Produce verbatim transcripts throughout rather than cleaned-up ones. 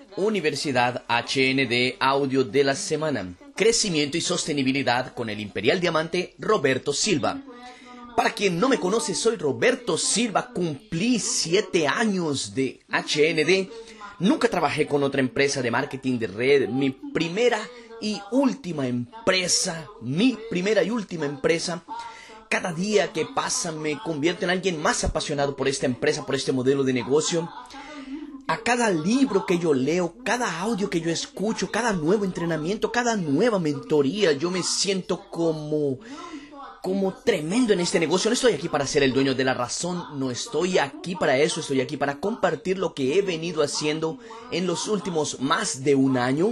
Universidad H N D Audio de la Semana. Crecimiento y sostenibilidad con el Imperial Diamante Roberto Silva. Para quien no me conoce, soy Roberto Silva, cumplí siete años de H N D. Nunca trabajé con otra empresa de marketing de red. Mi primera y última empresa, mi primera y última empresa. Cada día que pasa me convierto en alguien más apasionado por esta empresa, por este modelo de negocio. A cada libro que yo leo, cada audio que yo escucho, cada nuevo entrenamiento, cada nueva mentoría, yo me siento como, como tremendo en este negocio. No estoy aquí para ser el dueño de la razón, no estoy aquí para eso, estoy aquí para compartir lo que he venido haciendo en los últimos más de un año.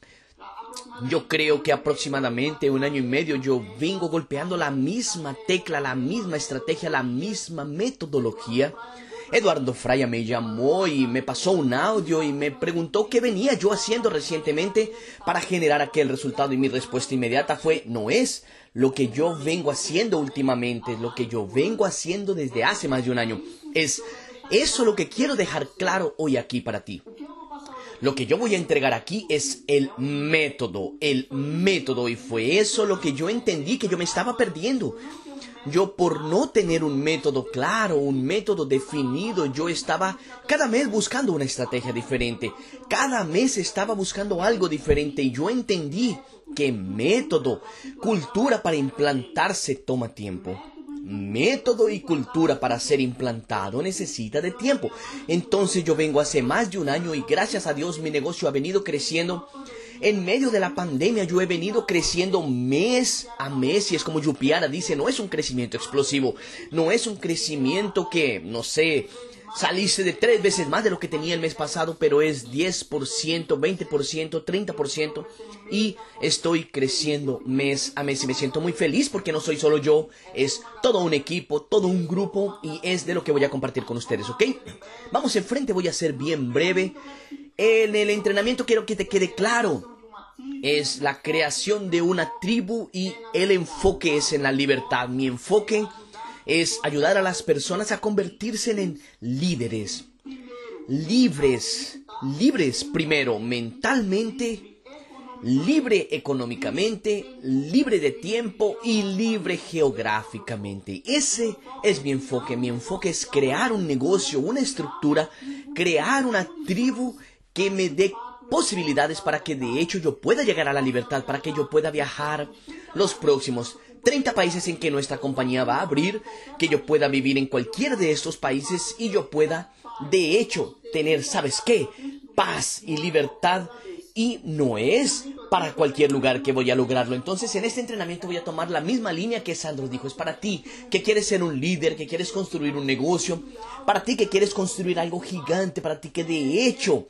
Yo creo que aproximadamente un año y medio yo vengo golpeando la misma tecla, la misma estrategia, la misma metodología. Eduardo Fraya me llamó y me pasó un audio y me preguntó qué venía yo haciendo recientemente para generar aquel resultado, y mi respuesta inmediata fue: no es lo que yo vengo haciendo últimamente, es lo que yo vengo haciendo desde hace más de un año. Es eso lo que quiero dejar claro hoy aquí para ti. Lo que yo voy a entregar aquí es el método, el método, y fue eso lo que yo entendí que yo me estaba perdiendo. Yo, por no tener un método claro, un método definido, yo estaba cada mes buscando una estrategia diferente. Cada mes estaba buscando algo diferente y yo entendí que método, cultura para implantarse toma tiempo. Método y cultura para ser implantado necesita de tiempo. Entonces yo vengo hace más de un año y gracias a Dios mi negocio ha venido creciendo. En medio de la pandemia yo he venido creciendo mes a mes, y es como Yupiara dice, no es un crecimiento explosivo, no es un crecimiento que, no sé, saliste de tres veces más de lo que tenía el mes pasado, pero es diez por ciento, veinte por ciento, treinta por ciento, y estoy creciendo mes a mes y me siento muy feliz porque no soy solo yo, es todo un equipo, todo un grupo, y es de lo que voy a compartir con ustedes, ¿ok? Vamos enfrente, voy a ser bien breve. En el entrenamiento quiero que te quede claro, es la creación de una tribu y el enfoque es en la libertad. Mi enfoque es ayudar a las personas a convertirse en líderes, libres, libres primero mentalmente, libre económicamente, libre de tiempo y libre geográficamente. Ese es mi enfoque. Mi enfoque es crear un negocio, una estructura, crear una tribu que me dé posibilidades para que de hecho yo pueda llegar a la libertad, para que yo pueda viajar los próximos treinta países en que nuestra compañía va a abrir, que yo pueda vivir en cualquiera de estos países y yo pueda de hecho tener, ¿sabes qué? Paz y libertad. Y no es para cualquier lugar que voy a lograrlo. Entonces en este entrenamiento voy a tomar la misma línea que Sandro dijo. Es para ti que quieres ser un líder, que quieres construir un negocio, para ti que quieres construir algo gigante, para ti que de hecho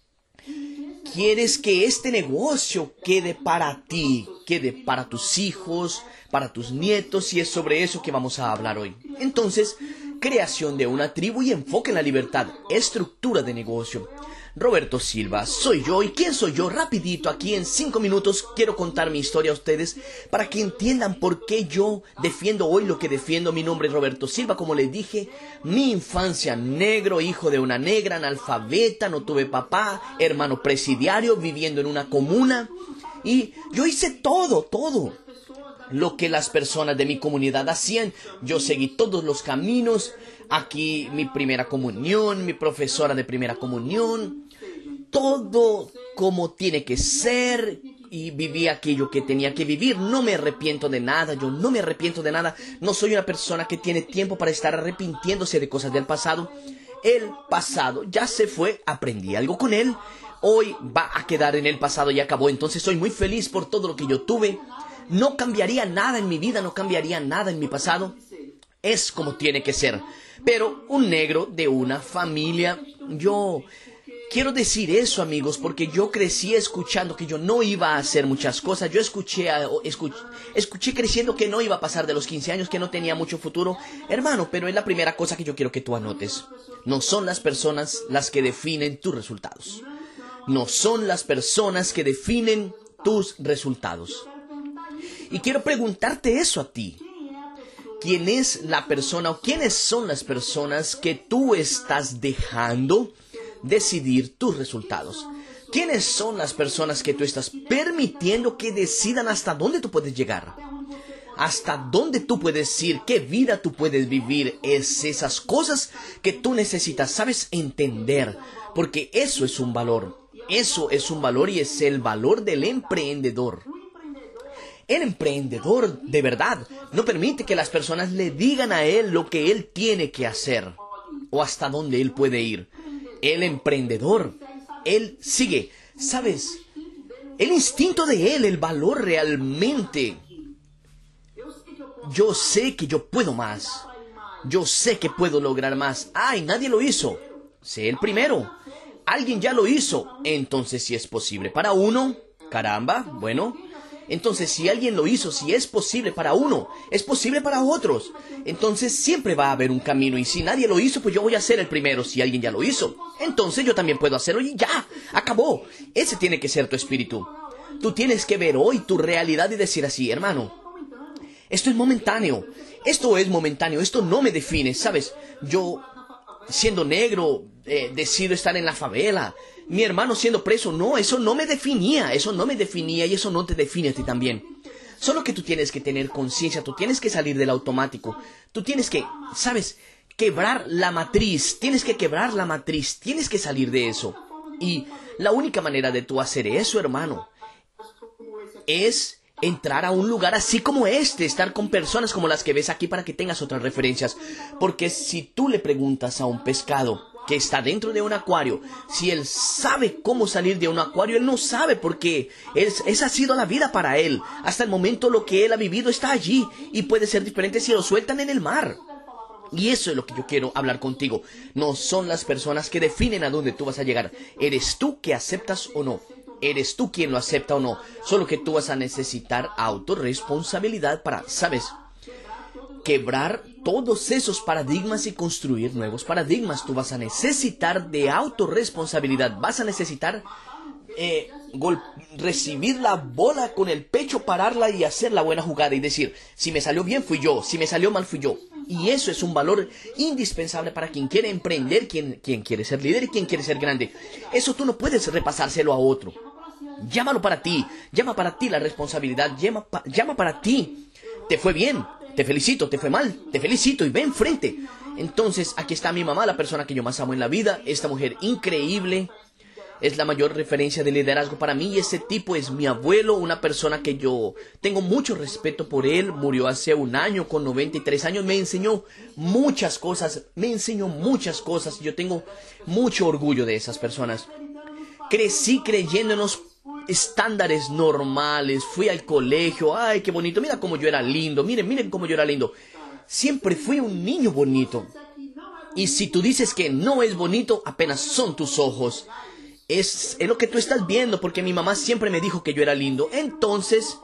quieres que este negocio quede para ti, quede para tus hijos, para tus nietos, y es sobre eso que vamos a hablar hoy. Entonces, creación de una tribu y enfoque en la libertad, estructura de negocio. Roberto Silva, soy yo. ¿Y quién soy yo? Rapidito, aquí en cinco minutos quiero contar mi historia a ustedes para que entiendan por qué yo defiendo hoy lo que defiendo. Mi nombre es Roberto Silva, como les dije, mi infancia negro, hijo de una negra, analfabeta, no tuve papá, hermano presidiario, viviendo en una comuna, y yo hice todo, todo lo que las personas de mi comunidad hacían. Yo seguí todos los caminos. Aquí mi primera comunión, mi profesora de primera comunión, todo como tiene que ser, y viví aquello que tenía que vivir. No me arrepiento de nada, yo no me arrepiento de nada. No soy una persona que tiene tiempo para estar arrepintiéndose de cosas del pasado. El pasado ya se fue, aprendí algo con él, hoy va a quedar en el pasado y acabó. Entonces soy muy feliz por todo lo que yo tuve. No cambiaría nada en mi vida, no cambiaría nada en mi pasado. Es como tiene que ser. Pero un negro de una familia, yo quiero decir eso, amigos, porque yo crecí escuchando que yo no iba a hacer muchas cosas. Yo escuché, escuché, escuché creciendo que no iba a pasar de los quince años, que no tenía mucho futuro. Hermano, pero es la primera cosa que yo quiero que tú anotes. No son las personas las que definen tus resultados. No son las personas que definen tus resultados. Y quiero preguntarte eso a ti. ¿Quién es la persona o quiénes son las personas que tú estás dejando decidir tus resultados? ¿Quiénes son las personas que tú estás permitiendo que decidan hasta dónde tú puedes llegar? Hasta dónde tú puedes ir, qué vida tú puedes vivir. Es esas cosas que tú necesitas, sabes, entender. Porque eso es un valor. Eso es un valor y es el valor del emprendedor. El emprendedor, de verdad, no permite que las personas le digan a él lo que él tiene que hacer o hasta dónde él puede ir. El emprendedor, él sigue, ¿sabes? El instinto de él, el valor realmente. Yo sé que yo puedo más. Yo sé que puedo lograr más. ¡Ay, nadie lo hizo! Sé el primero. Alguien ya lo hizo. Entonces, si es posible para uno, caramba, bueno. Entonces, si alguien lo hizo, si es posible para uno, es posible para otros. Entonces, siempre va a haber un camino. Y si nadie lo hizo, pues yo voy a ser el primero. Si alguien ya lo hizo, entonces yo también puedo hacerlo y ya, acabó. Ese tiene que ser tu espíritu. Tú tienes que ver hoy tu realidad y decir así, hermano, esto es momentáneo. Esto es momentáneo. Esto no me define, ¿sabes? Yo, siendo negro, eh, decido estar en la favela. Mi hermano siendo preso, no, eso no me definía, eso no me definía y eso no te define a ti también. Solo que tú tienes que tener conciencia, tú tienes que salir del automático, tú tienes que, ¿sabes? Quebrar la matriz, tienes que quebrar la matriz, tienes que salir de eso. Y la única manera de tú hacer eso, hermano, es entrar a un lugar así como este, estar con personas como las que ves aquí para que tengas otras referencias. Porque si tú le preguntas a un pescado que está dentro de un acuario, si él sabe cómo salir de un acuario, él no sabe porque él, esa ha sido la vida para él. Hasta el momento lo que él ha vivido está allí y puede ser diferente si lo sueltan en el mar. Y eso es lo que yo quiero hablar contigo. No son las personas que definen a dónde tú vas a llegar. Eres tú que aceptas o no. Eres tú quien lo acepta o no. Solo que tú vas a necesitar autorresponsabilidad para, ¿sabes?, quebrar todos esos paradigmas y construir nuevos paradigmas. Tú vas a necesitar de autorresponsabilidad. Vas a necesitar eh, recibir la bola con el pecho, pararla y hacer la buena jugada y decir, si me salió bien fui yo, si me salió mal fui yo. Y eso es un valor indispensable para quien quiere emprender, quien, quien quiere ser líder y quien quiere ser grande. Eso tú no puedes repasárselo a otro. Llámalo para ti, llama para ti la responsabilidad, llama, pa, llama para ti. Te fue bien, te felicito, te fue mal, te felicito y ve enfrente. Entonces, aquí está mi mamá, la persona que yo más amo en la vida, esta mujer increíble. Es la mayor referencia de liderazgo para mí y ese tipo es mi abuelo, una persona que yo tengo mucho respeto por él. Murió hace un año con noventa y tres años. Me enseñó muchas cosas, me enseñó muchas cosas. Yo tengo mucho orgullo de esas personas. Crecí creyendo en los estándares normales. Fui al colegio. Ay, qué bonito. Mira cómo yo era lindo. Miren, miren cómo yo era lindo. Siempre fui un niño bonito. Y si tú dices que no es bonito, apenas son tus ojos. Es, es lo que tú estás viendo, porque mi mamá siempre me dijo que yo era lindo. Entonces,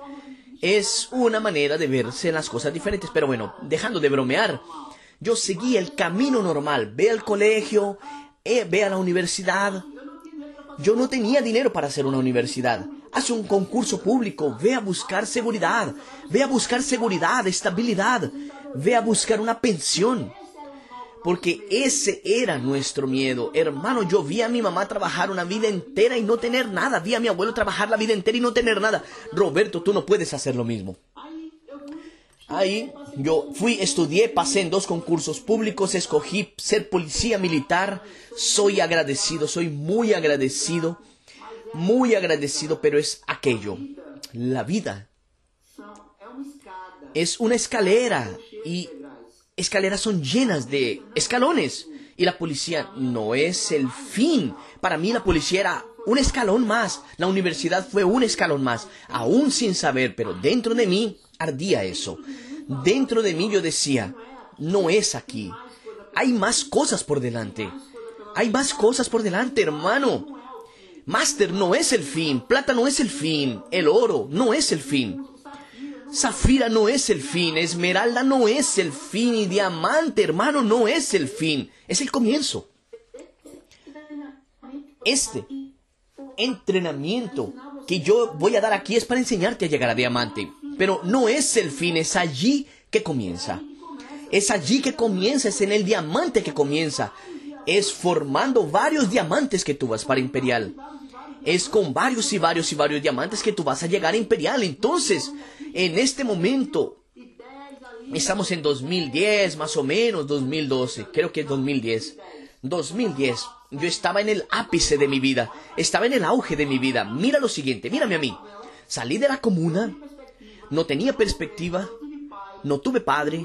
es una manera de verse las cosas diferentes. Pero bueno, dejando de bromear, yo seguí el camino normal. Ve al colegio, eh, ve a la universidad. Yo no tenía dinero para hacer una universidad. Haz un concurso público, ve a buscar seguridad. Ve a buscar seguridad, estabilidad. Ve a buscar una pensión. Porque ese era nuestro miedo. Hermano, yo vi a mi mamá trabajar una vida entera y no tener nada. Vi a mi abuelo trabajar la vida entera y no tener nada. Roberto, tú no puedes hacer lo mismo. Ahí yo fui, estudié, pasé en dos concursos públicos, escogí ser policía militar. Soy agradecido, soy muy agradecido. Muy agradecido, pero es aquello. La vida es una escalera y escaleras son llenas de escalones. Y la policía no es el fin. Para mí la policía era un escalón más. La universidad fue un escalón más. Aún sin saber, pero dentro de mí ardía eso. Dentro de mí yo decía, no es aquí. Hay más cosas por delante. Hay más cosas por delante, hermano. Máster no es el fin. Plata no es el fin. El oro no es el fin. Zafira no es el fin, esmeralda no es el fin y diamante, hermano, no es el fin, es el comienzo. Este entrenamiento que yo voy a dar aquí es para enseñarte a llegar a diamante, pero no es el fin, es allí que comienza. Es allí que comienza, es en el diamante que comienza. Es formando varios diamantes que tú vas para Imperial. es con varios y varios y varios diamantes que tú vas a llegar a Imperial. Entonces, en este momento, estamos en dos mil diez, más o menos, dos mil doce, creo que es dos mil diez. dos mil diez, yo estaba en el ápice de mi vida, estaba en el auge de mi vida. Mira lo siguiente, mírame a mí. Salí de la comuna, no tenía perspectiva, no tuve padre,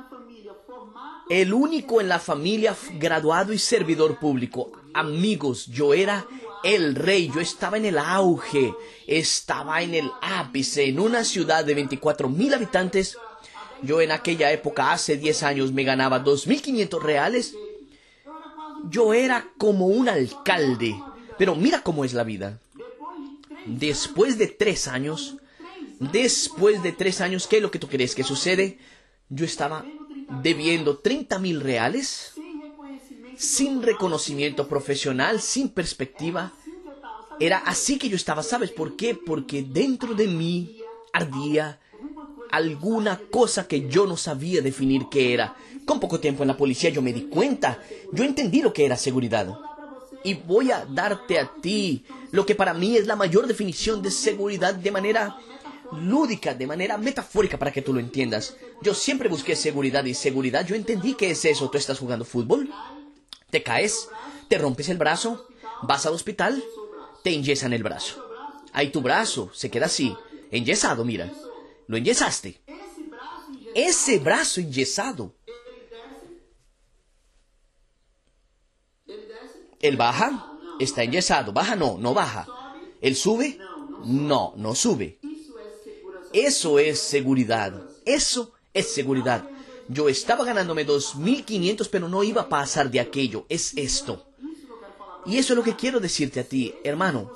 el único en la familia graduado y servidor público. Amigos, yo era el rey, yo estaba en el auge, estaba en el ápice, en una ciudad de veinticuatro mil habitantes. Yo en aquella época, hace diez años, me ganaba dos mil quinientos reales. Yo era como un alcalde, pero mira cómo es la vida. Después de tres años, después de tres años, ¿qué es lo que tú crees que sucede? Yo estaba debiendo treinta mil reales, sin reconocimiento profesional, sin perspectiva. Era así que yo estaba, ¿sabes por qué? Porque dentro de mí ardía alguna cosa que yo no sabía definir qué era. Con poco tiempo en la policía yo me di cuenta, yo entendí lo que era seguridad. Y voy a darte a ti lo que para mí es la mayor definición de seguridad de manera lúdica, de manera metafórica, para que tú lo entiendas. Yo siempre busqué seguridad y seguridad, yo entendí qué es eso. Tú estás jugando fútbol, te caes, te rompes el brazo, vas al hospital, te enyesan el brazo. Ahí tu brazo se queda así, enyesado, mira. Lo enyesaste. Ese brazo enyesado, él baja, está enyesado. Baja, no, no baja. Él sube, no, no sube. Eso es seguridad. Eso es seguridad. Yo estaba ganándome dos mil quinientos, pero no iba a pasar de aquello. Es esto. Y eso es lo que quiero decirte a ti, hermano.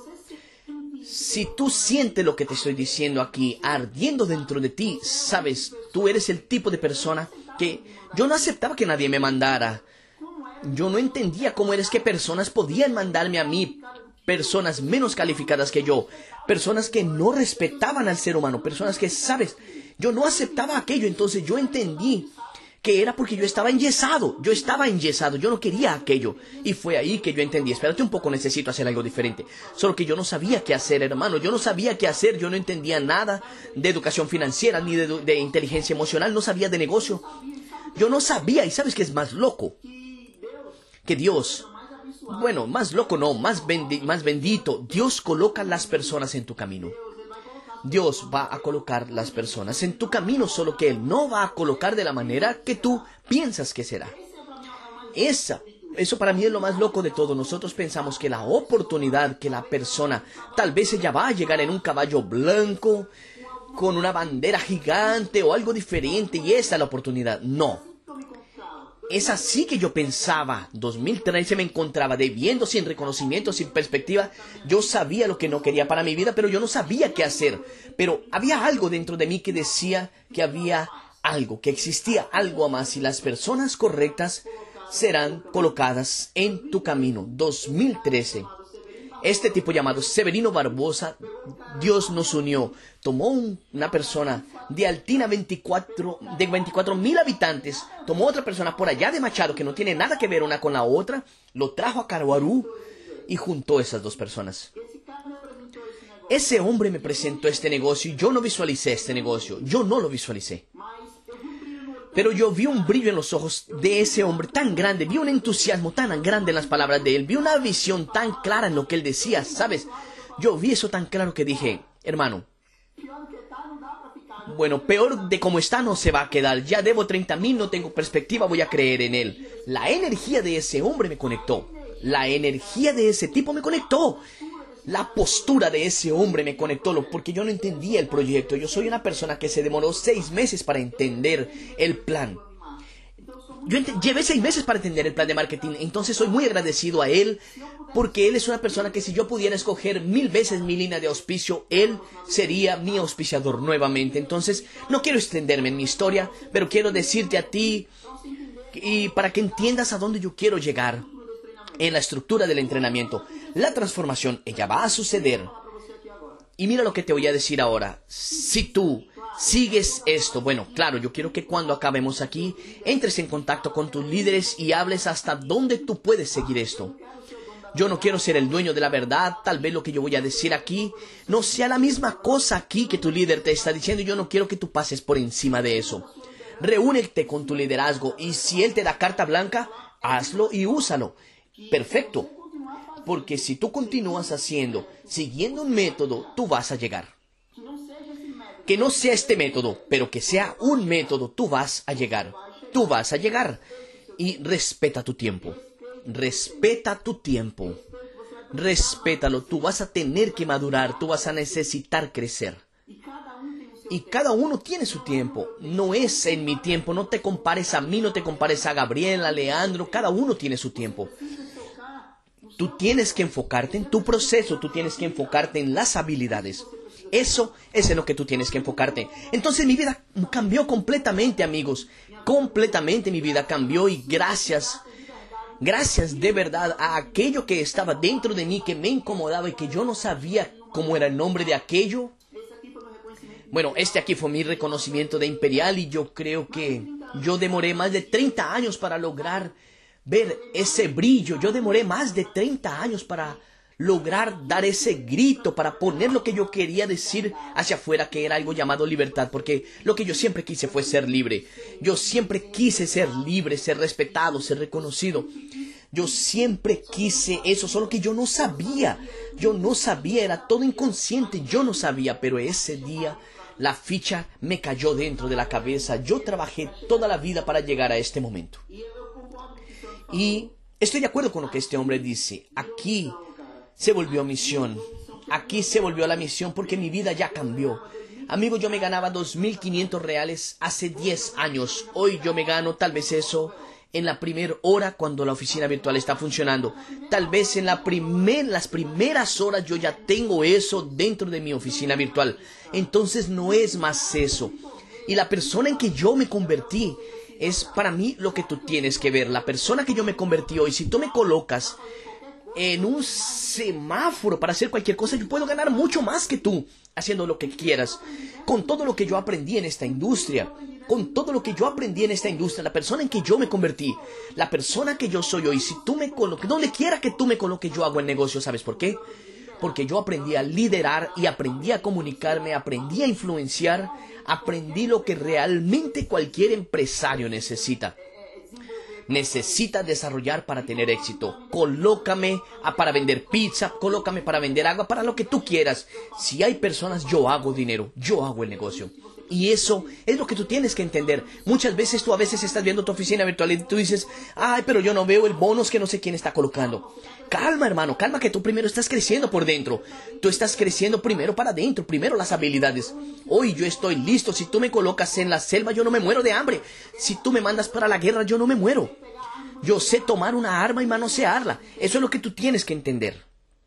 Si tú sientes lo que te estoy diciendo aquí, ardiendo dentro de ti, sabes, tú eres el tipo de persona que yo no aceptaba que nadie me mandara. Yo no entendía cómo eres que personas podían mandarme a mí, personas menos calificadas que yo, personas que no respetaban al ser humano, personas que, sabes, yo no aceptaba aquello. Entonces yo entendí que era porque yo estaba enyesado, yo estaba enyesado, yo no quería aquello. Y fue ahí que yo entendí, espérate un poco, necesito hacer algo diferente. Solo que yo no sabía qué hacer, hermano, yo no sabía qué hacer, yo no entendía nada de educación financiera, ni de, de inteligencia emocional, no sabía de negocio. Yo no sabía, y ¿sabes qué es más loco? Que Dios, bueno, más loco no, más, bendi más bendito, Dios coloca las personas en tu camino. Dios va a colocar las personas en tu camino, solo que Él no va a colocar de la manera que tú piensas que será. Esa, eso para mí es lo más loco de todo. Nosotros pensamos que la oportunidad, que la persona, tal vez ella va a llegar en un caballo blanco, con una bandera gigante o algo diferente, y esa es la oportunidad. No. Es así que yo pensaba. dos mil trece me encontraba debiendo, sin reconocimiento, sin perspectiva. Yo sabía lo que no quería para mi vida, pero yo no sabía qué hacer. Pero había algo dentro de mí que decía que había algo, que existía algo más, y las personas correctas serán colocadas en tu camino. dos mil trece. Este tipo llamado Severino Barbosa, Dios nos unió. Tomó un, una persona de Altina, veinticuatro, de veinticuatro mil habitantes. Tomó otra persona por allá de Machado, que no tiene nada que ver una con la otra. Lo trajo a Caruaru y juntó esas dos personas. Ese hombre me presentó este negocio y yo no visualicé este negocio. Yo no lo visualicé. Pero yo vi un brillo en los ojos de ese hombre tan grande, vi un entusiasmo tan grande en las palabras de él, vi una visión tan clara en lo que él decía, ¿sabes? Yo vi eso tan claro que dije, hermano, bueno, peor de como está no se va a quedar, ya debo treinta mil, no tengo perspectiva, voy a creer en él. La energía de ese hombre me conectó, la energía de ese tipo me conectó. La postura de ese hombre me conectó, porque yo no entendía el proyecto. Yo soy una persona que se demoró seis meses para entender el plan. Yo llevé seis meses para entender el plan de marketing, entonces soy muy agradecido a él, porque él es una persona que si yo pudiera escoger mil veces mi línea de auspicio, él sería mi auspiciador nuevamente. Entonces, no quiero extenderme en mi historia, pero quiero decirte a ti, y para que entiendas a dónde yo quiero llegar en la estructura del entrenamiento. La transformación, ella va a suceder. Y mira lo que te voy a decir ahora. Si tú sigues esto, bueno, claro, yo quiero que cuando acabemos aquí, entres en contacto con tus líderes y hables hasta dónde tú puedes seguir esto. Yo no quiero ser el dueño de la verdad. Tal vez lo que yo voy a decir aquí no sea la misma cosa aquí que tu líder te está diciendo. Yo no quiero que tú pases por encima de eso. Reúnete con tu liderazgo y si él te da carta blanca, hazlo y úsalo. Perfecto. Porque si tú continúas haciendo, siguiendo un método, tú vas a llegar. Que no sea este método, pero que sea un método, tú vas a llegar. Tú vas a llegar. Y respeta tu tiempo. Respeta tu tiempo. Respétalo. Tú vas a tener que madurar. Tú vas a necesitar crecer. Y cada uno tiene su tiempo. No es en mi tiempo. No te compares a mí, no te compares a Gabriela, a Leandro. Cada uno tiene su tiempo. Tú tienes que enfocarte en tu proceso. Tú tienes que enfocarte en las habilidades. Eso es en lo que tú tienes que enfocarte. Entonces mi vida cambió completamente, amigos. Completamente mi vida cambió y gracias, gracias de verdad a aquello que estaba dentro de mí, que me incomodaba y que yo no sabía cómo era el nombre de aquello. Bueno, este aquí fue mi reconocimiento de Imperial y yo creo que yo demoré más de treinta años para lograr ver ese brillo. Yo demoré más de treinta años para lograr dar ese grito, para poner lo que yo quería decir hacia afuera, que era algo llamado libertad, porque lo que yo siempre quise fue ser libre. Yo siempre quise ser libre, ser respetado, ser reconocido. Yo siempre quise eso, solo que yo no sabía. Yo no sabía, era todo inconsciente, yo no sabía, pero ese día la ficha me cayó dentro de la cabeza. Yo trabajé toda la vida para llegar a este momento. Y estoy de acuerdo con lo que este hombre dice. Aquí se volvió misión. Aquí se volvió la misión porque mi vida ya cambió. Amigo, yo me ganaba dos mil quinientos reales hace diez años. Hoy yo me gano tal vez eso en la primera hora cuando la oficina virtual está funcionando. Tal vez en la primer, las primeras horas yo ya tengo eso dentro de mi oficina virtual. Entonces no es más eso. Y la persona en que yo me convertí es para mí lo que tú tienes que ver. La persona que yo me convertí hoy, si tú me colocas en un semáforo para hacer cualquier cosa, yo puedo ganar mucho más que tú haciendo lo que quieras. Con todo lo que yo aprendí en esta industria, con todo lo que yo aprendí en esta industria, la persona en que yo me convertí, la persona que yo soy hoy, si tú me colocas, donde quiera que tú me coloques, yo hago el negocio. ¿Sabes por qué? Porque yo aprendí a liderar y aprendí a comunicarme, aprendí a influenciar, aprendí lo que realmente cualquier empresario necesita. Necesita desarrollar para tener éxito. Colócame a, para vender pizza, colócame para vender agua, para lo que tú quieras. Si hay personas, yo hago dinero, yo hago el negocio. Y eso es lo que tú tienes que entender. Muchas veces tú a veces estás viendo tu oficina virtual y tú dices, ay, pero yo no veo el bonus que no sé quién está colocando. Calma, hermano, calma, que tú primero estás creciendo por dentro. Tú estás creciendo primero para adentro, primero las habilidades. Hoy yo estoy listo. Si tú me colocas en la selva, yo no me muero de hambre. Si tú me mandas para la guerra, yo no me muero. Yo sé tomar una arma y manosearla. Eso es lo que tú tienes que entender.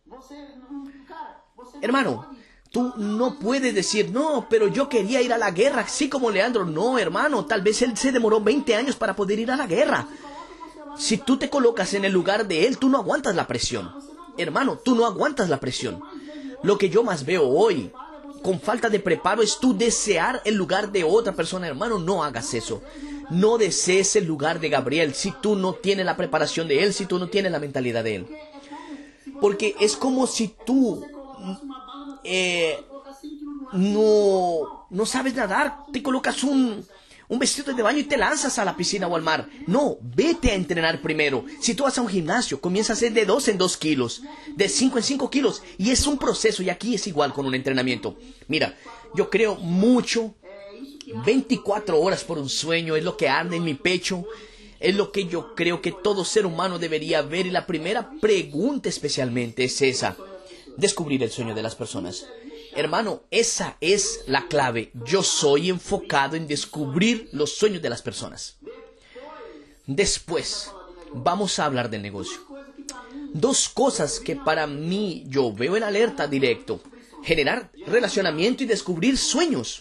Hermano, tú no puedes decir, no, pero yo quería ir a la guerra, así como Leandro. No, hermano, tal vez él se demoró veinte años para poder ir a la guerra. Si tú te colocas en el lugar de él, tú no aguantas la presión. Hermano, tú no aguantas la presión. Lo que yo más veo hoy, con falta de preparo, es tú desear el lugar de otra persona. Hermano, no hagas eso. No desees el lugar de Gabriel si tú no tienes la preparación de él, si tú no tienes la mentalidad de él. Porque es como si tú eh, no, no sabes nadar, te colocas un... un vestido de baño y te lanzas a la piscina o al mar. No, vete a entrenar primero. Si tú vas a un gimnasio, comienza a hacer de dos en dos kilos, de cinco en cinco kilos. Y es un proceso, y aquí es igual con un entrenamiento. Mira, yo creo mucho, veinticuatro horas por un sueño, es lo que arde en mi pecho. Es lo que yo creo que todo ser humano debería ver. Y la primera pregunta especialmente es esa: descubrir el sueño de las personas. Hermano, esa es la clave. Yo soy enfocado en descubrir los sueños de las personas. Después, vamos a hablar del negocio. Dos cosas que para mí yo veo en alerta directo: generar relacionamiento y descubrir sueños.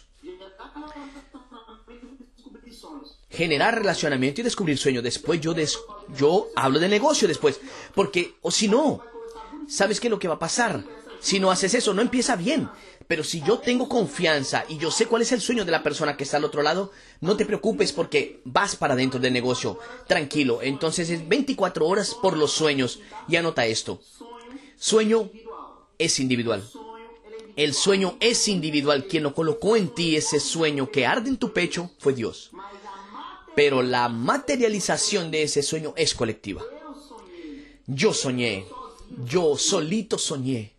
Generar relacionamiento y descubrir sueños. Después yo, des yo hablo de negocio después. Porque, o si no, ¿sabes qué es lo que va a pasar? Si no haces eso, no empieza bien. Pero si yo tengo confianza y yo sé cuál es el sueño de la persona que está al otro lado, no te preocupes porque vas para dentro del negocio. Tranquilo. Entonces es veinticuatro horas por los sueños. Y anota esto. Sueño es individual. El sueño es individual. Quien lo colocó en ti, ese sueño que arde en tu pecho, fue Dios. Pero la materialización de ese sueño es colectiva. Yo soñé. Yo solito soñé.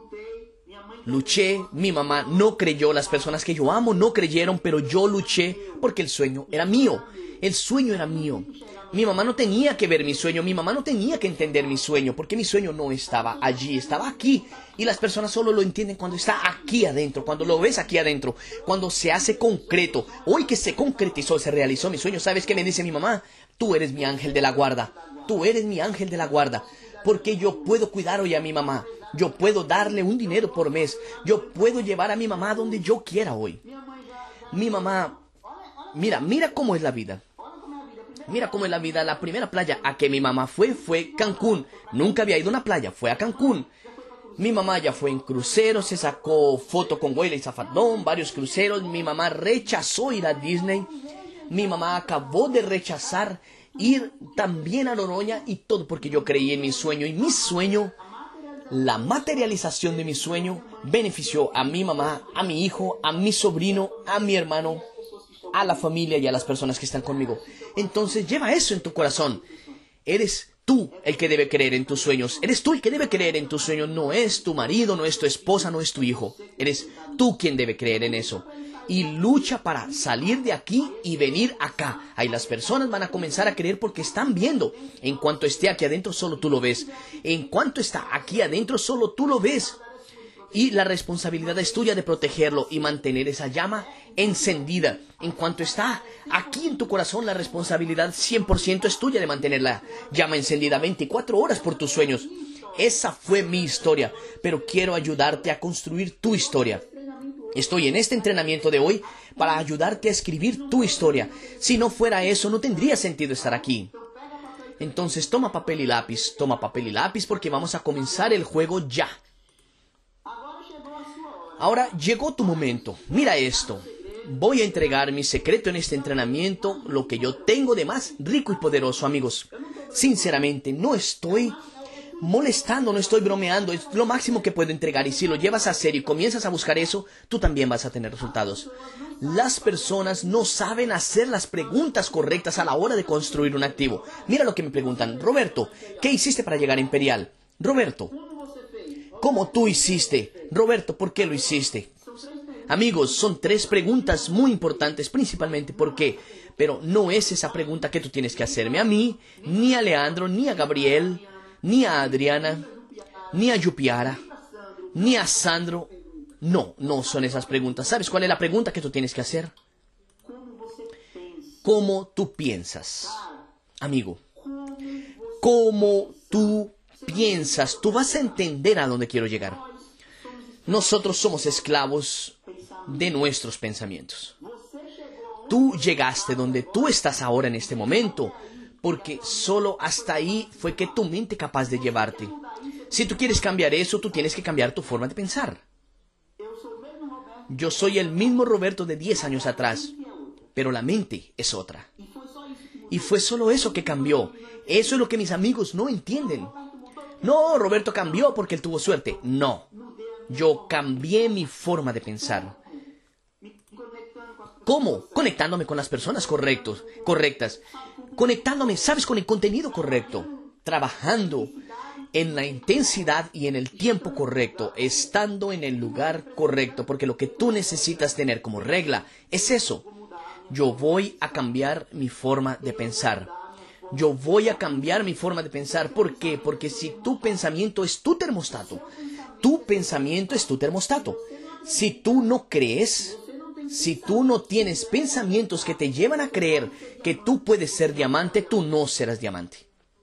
Luché, mi mamá no creyó, las personas que yo amo no creyeron, pero yo luché porque el sueño era mío. El sueño era mío. Mi mamá no tenía que ver mi sueño, mi mamá no tenía que entender mi sueño, porque mi sueño no estaba allí, estaba aquí. Y las personas solo lo entienden cuando está aquí adentro, cuando lo ves aquí adentro, cuando se hace concreto. Hoy que se concretizó, se realizó mi sueño, ¿sabes qué me dice mi mamá? Tú eres mi ángel de la guarda, tú eres mi ángel de la guarda, porque yo puedo cuidar hoy a mi mamá. Yo puedo darle un dinero por mes. Yo puedo llevar a mi mamá donde yo quiera hoy. Mi mamá, mira, mira cómo es la vida. Mira cómo es la vida. La primera playa a que mi mamá fue, fue Cancún. Nunca había ido a una playa, fue a Cancún. Mi mamá ya fue en cruceros, se sacó foto con Huela y Zafardón, varios cruceros. Mi mamá rechazó ir a Disney. Mi mamá acabó de rechazar ir también a Noroña y todo porque yo creí en mi sueño. Y mi sueño... La materialización de mi sueño benefició a mi mamá, a mi hijo, a mi sobrino, a mi hermano, a la familia y a las personas que están conmigo. Entonces lleva eso en tu corazón. Eres tú el que debe creer en tus sueños. Eres tú el que debe creer en tus sueños. No es tu marido, no es tu esposa, no es tu hijo. Eres tú quien debe creer en eso. Y lucha para salir de aquí y venir acá. Ahí las personas van a comenzar a creer porque están viendo. En cuanto esté aquí adentro, solo tú lo ves. En cuanto está aquí adentro, solo tú lo ves. Y la responsabilidad es tuya de protegerlo y mantener esa llama encendida. En cuanto está aquí en tu corazón, la responsabilidad cien por ciento es tuya de mantener la llama encendida veinticuatro horas por tus sueños. Esa fue mi historia, pero quiero ayudarte a construir tu historia. Estoy en este entrenamiento de hoy para ayudarte a escribir tu historia. Si no fuera eso, no tendría sentido estar aquí. Entonces toma papel y lápiz, toma papel y lápiz porque vamos a comenzar el juego ya. Ahora llegó tu momento. Mira esto. Voy a entregar mi secreto en este entrenamiento, lo que yo tengo de más rico y poderoso, amigos. Sinceramente, no estoy molestando, no estoy bromeando, es lo máximo que puedo entregar y si lo llevas a serio y comienzas a buscar eso, tú también vas a tener resultados. Las personas no saben hacer las preguntas correctas a la hora de construir un activo. Mira lo que me preguntan. Roberto, ¿qué hiciste para llegar a Imperial? Roberto, ¿cómo tú hiciste? Roberto, ¿por qué lo hiciste? Amigos, son tres preguntas muy importantes, principalmente ¿por qué? Pero no es esa pregunta que tú tienes que hacerme a mí, ni a Leandro, ni a Gabriel, ni a Adriana, ni a Yupiara, ni a Sandro. No, no son esas preguntas. ¿Sabes cuál es la pregunta que tú tienes que hacer? ¿Cómo tú piensas? Amigo, ¿cómo tú piensas? Tú vas a entender a dónde quiero llegar. Nosotros somos esclavos de nuestros pensamientos. Tú llegaste donde tú estás ahora en este momento porque solo hasta ahí fue que tu mente capaz de llevarte. Si tú quieres cambiar eso, tú tienes que cambiar tu forma de pensar. Yo soy el mismo Roberto de diez años atrás, pero la mente es otra. Y fue solo eso que cambió. Eso es lo que mis amigos no entienden. No, Roberto cambió porque él tuvo suerte. No, yo cambié mi forma de pensar. ¿Cómo? Conectándome con las personas correctos, correctas. Conectándome, ¿sabes? Con el contenido correcto. Trabajando en la intensidad y en el tiempo correcto. Estando en el lugar correcto. Porque lo que tú necesitas tener como regla es eso. Yo voy a cambiar mi forma de pensar. Yo voy a cambiar mi forma de pensar. ¿Por qué? Porque si tu pensamiento es tu termostato. Tu pensamiento es tu termostato. Si tú no crees... Si tú no tienes pensamientos que te llevan a creer que tú puedes ser diamante, tú no serás diamante.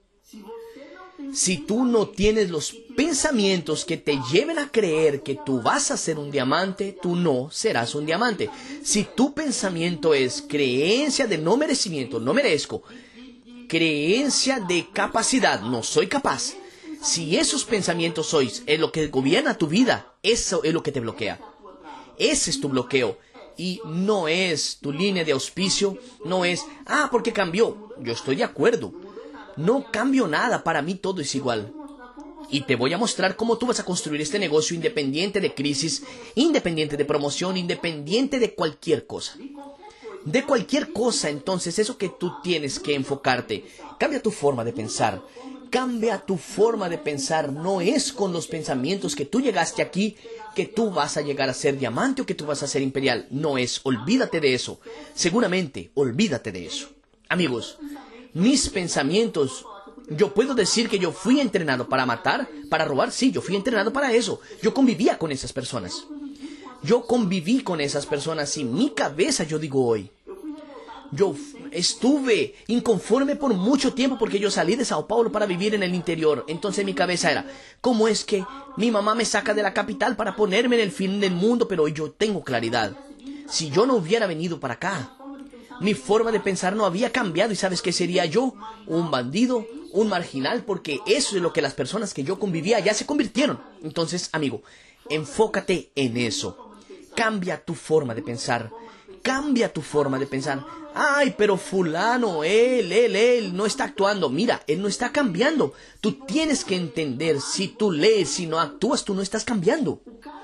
Si tú no tienes los pensamientos que te lleven a creer que tú vas a ser un diamante, tú no serás un diamante. Si tu pensamiento es creencia de no merecimiento, no merezco, creencia de capacidad, no soy capaz. Si esos pensamientos sois es lo que gobierna tu vida, eso es lo que te bloquea. Ese es tu bloqueo. Y no es tu línea de auspicio, no es, ah, porque cambió. Yo estoy de acuerdo. No cambio nada, para mí todo es igual. Y te voy a mostrar cómo tú vas a construir este negocio independiente de crisis, independiente de promoción, independiente de cualquier cosa. De cualquier cosa, entonces, eso que tú tienes que enfocarte. Cambia tu forma de pensar. Cambia tu forma de pensar. No es con los pensamientos que tú llegaste aquí que tú vas a llegar a ser diamante o que tú vas a ser imperial. No es. Olvídate de eso. Seguramente, olvídate de eso. Amigos, mis pensamientos, yo puedo decir que yo fui entrenado para matar, para robar. Sí, yo fui entrenado para eso. Yo convivía con esas personas. Yo conviví con esas personas y mi cabeza, yo digo hoy, yo estuve inconforme por mucho tiempo porque yo salí de Sao Paulo para vivir en el interior. Entonces mi cabeza era, ¿cómo es que mi mamá me saca de la capital para ponerme en el fin del mundo? Pero yo tengo claridad. Si yo no hubiera venido para acá, mi forma de pensar no había cambiado. ¿Y sabes qué sería yo? Un bandido, un marginal, porque eso es lo que las personas que yo convivía ya se convirtieron. Entonces, amigo, enfócate en eso. Cambia tu forma de pensar. Cambia tu forma de pensar. Ay, pero fulano, él, él, él no está actuando. Mira, él no está cambiando. Tú tienes que entender, si tú lees, si no actúas, tú no estás cambiando.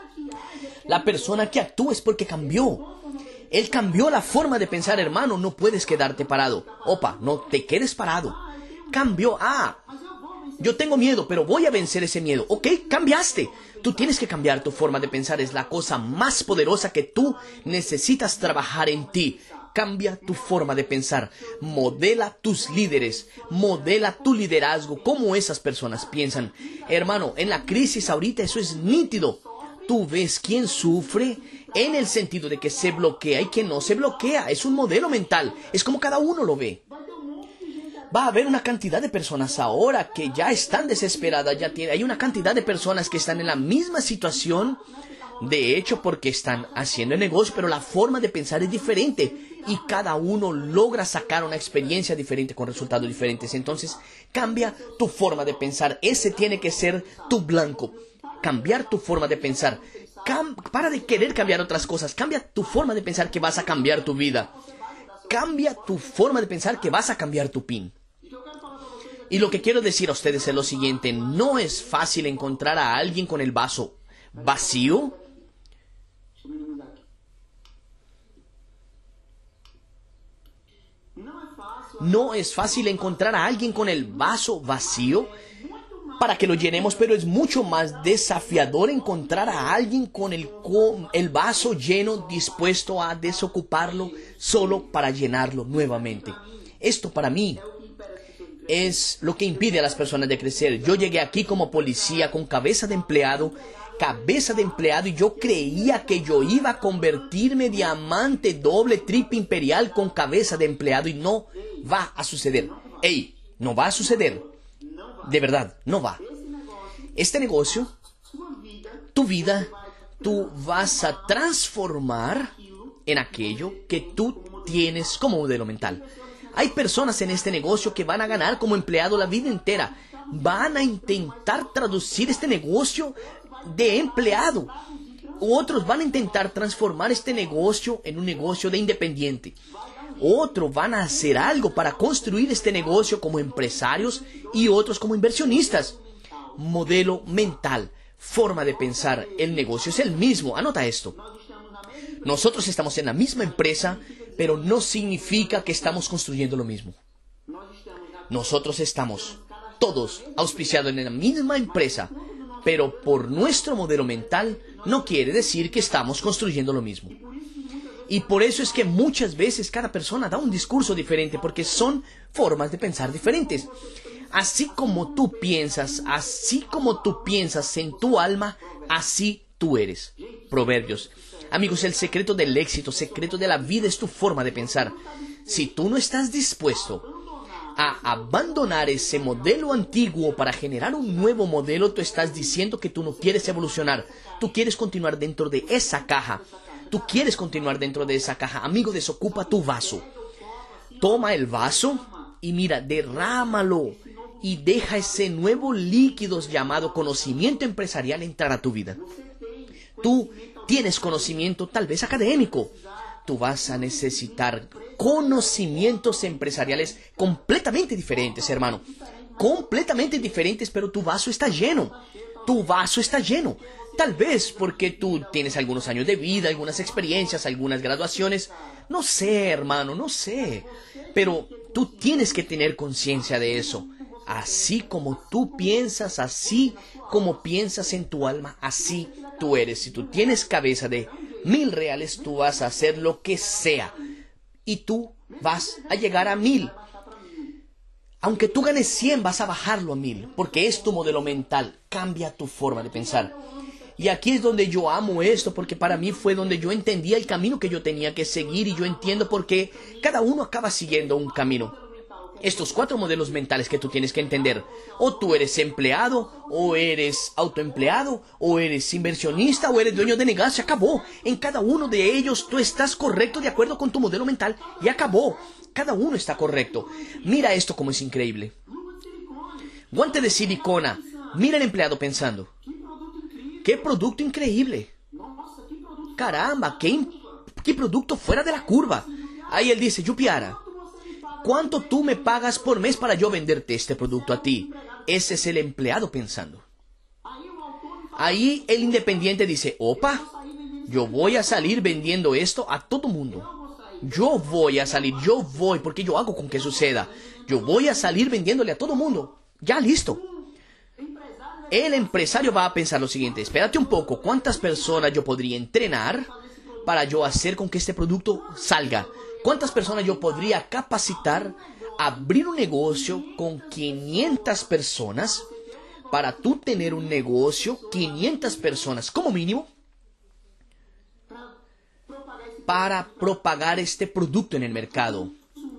La persona que actúa es porque cambió. Él cambió la forma de pensar, hermano. No puedes quedarte parado. Opa, no te quedes parado. Cambió. Ah, yo tengo miedo, pero voy a vencer ese miedo. Ok, cambiaste. Tú tienes que cambiar tu forma de pensar. Es la cosa más poderosa que tú necesitas trabajar en ti. Cambia tu forma de pensar. Modela tus líderes. Modela tu liderazgo. Cómo esas personas piensan. Hermano, en la crisis ahorita eso es nítido. Tú ves quién sufre en el sentido de que se bloquea y que no se bloquea. Es un modelo mental. Es como cada uno lo ve. Va a haber una cantidad de personas ahora que ya están desesperadas. Ya tiene, hay una cantidad de personas que están en la misma situación. De hecho, porque están haciendo el negocio, pero la forma de pensar es diferente. Y cada uno logra sacar una experiencia diferente con resultados diferentes. Entonces, cambia tu forma de pensar. Ese tiene que ser tu blanco. Cambiar tu forma de pensar. Cam- para de querer cambiar otras cosas. Cambia tu forma de pensar que vas a cambiar tu vida. Cambia tu forma de pensar que vas a cambiar tu pin. Y lo que quiero decir a ustedes es lo siguiente. No es fácil encontrar a alguien con el vaso vacío. No es fácil encontrar a alguien con el vaso vacío para que lo llenemos, pero es mucho más desafiador encontrar a alguien con el, con el vaso lleno, dispuesto a desocuparlo solo para llenarlo nuevamente. Esto para mí es lo que impide a las personas de crecer. Yo llegué aquí como policía con cabeza de empleado, cabeza de empleado, y yo creía que yo iba a convertirme diamante, doble, triple imperial con cabeza de empleado, y no va a suceder. Ey, no va a suceder. De verdad, no va. Este negocio, tu vida, tú vas a transformar en aquello que tú tienes como modelo mental. Hay personas en este negocio que van a ganar como empleado la vida entera. Van a intentar traducir este negocio de empleado. Otros van a intentar transformar este negocio en un negocio de independiente. Otros van a hacer algo para construir este negocio como empresarios y otros como inversionistas. Modelo mental, forma de pensar. El negocio es el mismo. Anota esto. Nosotros estamos en la misma empresa, pero no significa que estamos construyendo lo mismo. Nosotros estamos todos auspiciados en la misma empresa, pero por nuestro modelo mental no quiere decir que estamos construyendo lo mismo. Y por eso es que muchas veces cada persona da un discurso diferente, porque son formas de pensar diferentes. Así como tú piensas, así como tú piensas en tu alma, así tú eres. Proverbios. Amigos, el secreto del éxito, secreto de la vida es tu forma de pensar. Si tú no estás dispuesto a abandonar ese modelo antiguo para generar un nuevo modelo, tú estás diciendo que tú no quieres evolucionar. Tú quieres continuar dentro de esa caja. Tú quieres continuar dentro de esa caja. Amigo, desocupa tu vaso. Toma el vaso y mira, derrámalo y deja ese nuevo líquido llamado conocimiento empresarial entrar a tu vida. Tú tienes conocimiento tal vez académico. Tú vas a necesitar conocimientos empresariales completamente diferentes, hermano. Completamente diferentes, pero tu vaso está lleno. Tu vaso está lleno. Tal vez porque tú tienes algunos años de vida, algunas experiencias, algunas graduaciones. No sé, hermano, no sé. Pero tú tienes que tener conciencia de eso. Así como tú piensas, así como piensas en tu alma, así tú eres. Si tú tienes cabeza de mil reales, tú vas a hacer lo que sea. Y tú vas a llegar a mil. Aunque tú ganes cien, vas a bajarlo a mil. Porque es tu modelo mental. Cambia tu forma de pensar. Y aquí es donde yo amo esto, porque para mí fue donde yo entendía el camino que yo tenía que seguir, y yo entiendo por qué cada uno acaba siguiendo un camino. Estos cuatro modelos mentales que tú tienes que entender: o tú eres empleado, o eres autoempleado, o eres inversionista, o eres dueño de negocio. Se acabó. En cada uno de ellos tú estás correcto de acuerdo con tu modelo mental, y acabó. Cada uno está correcto. Mira esto como es increíble. Guante de silicona. Mira el empleado pensando: ¡qué producto increíble! ¡Caramba! ¡Qué, qué producto fuera de la curva! Ahí él dice: Yupiara, ¿cuánto tú me pagas por mes para yo venderte este producto a ti? Ese es el empleado pensando. Ahí el independiente dice: opa, yo voy a salir vendiendo esto a todo mundo. Yo voy a salir, yo voy, porque yo hago con que suceda. Yo voy a salir vendiéndole a todo mundo. Ya, listo. El empresario va a pensar lo siguiente: espérate un poco, ¿cuántas personas yo podría entrenar para yo hacer con que este producto salga? ¿Cuántas personas yo podría capacitar a abrir un negocio con quinientas personas? Para tú tener un negocio, quinientas personas como mínimo, para propagar este producto en el mercado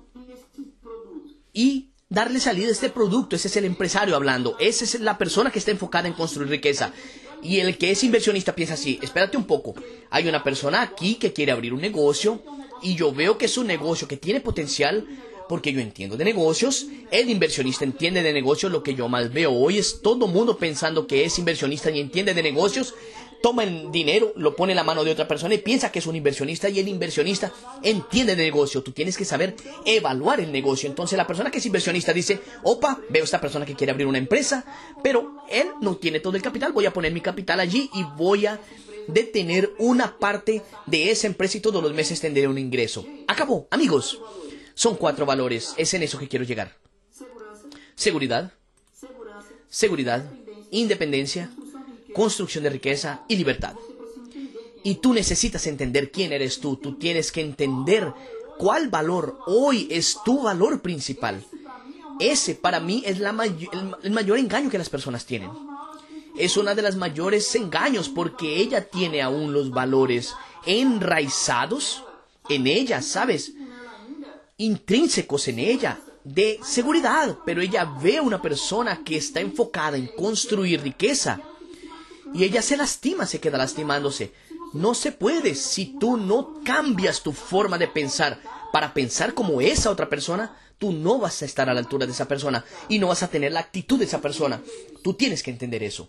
y darle salida a este producto. Ese es el empresario hablando. Esa es la persona que está enfocada en construir riqueza. Y el que es inversionista piensa así: espérate un poco, hay una persona aquí que quiere abrir un negocio y yo veo que es un negocio que tiene potencial, porque yo entiendo de negocios. El inversionista entiende de negocios. Lo que yo más veo hoy es todo mundo pensando que es inversionista y entiende de negocios. Toma el dinero, lo pone en la mano de otra persona y piensa que es un inversionista, y el inversionista entiende de negocio. Tú tienes que saber evaluar el negocio. Entonces la persona que es inversionista dice: opa, veo esta persona que quiere abrir una empresa, pero él no tiene todo el capital. Voy a poner mi capital allí y voy a detener una parte de esa empresa y todos los meses tendré un ingreso. Acabó, amigos. Son cuatro valores. Es en eso que quiero llegar: seguridad, seguridad, independencia, construcción de riqueza y libertad. Y tú necesitas entender quién eres tú. Tú tienes que entender cuál valor hoy es tu valor principal. Ese para mí es la may- el, el mayor engaño que las personas tienen. Es una de las mayores engaños, porque ella tiene aún los valores enraizados en ella, ¿sabes? Intrínsecos en ella, de seguridad. Pero ella ve a una persona que está enfocada en construir riqueza y ella se lastima, se queda lastimándose. No se puede. Si tú no cambias tu forma de pensar para pensar como esa otra persona, tú no vas a estar a la altura de esa persona y no vas a tener la actitud de esa persona. Tú tienes que entender eso.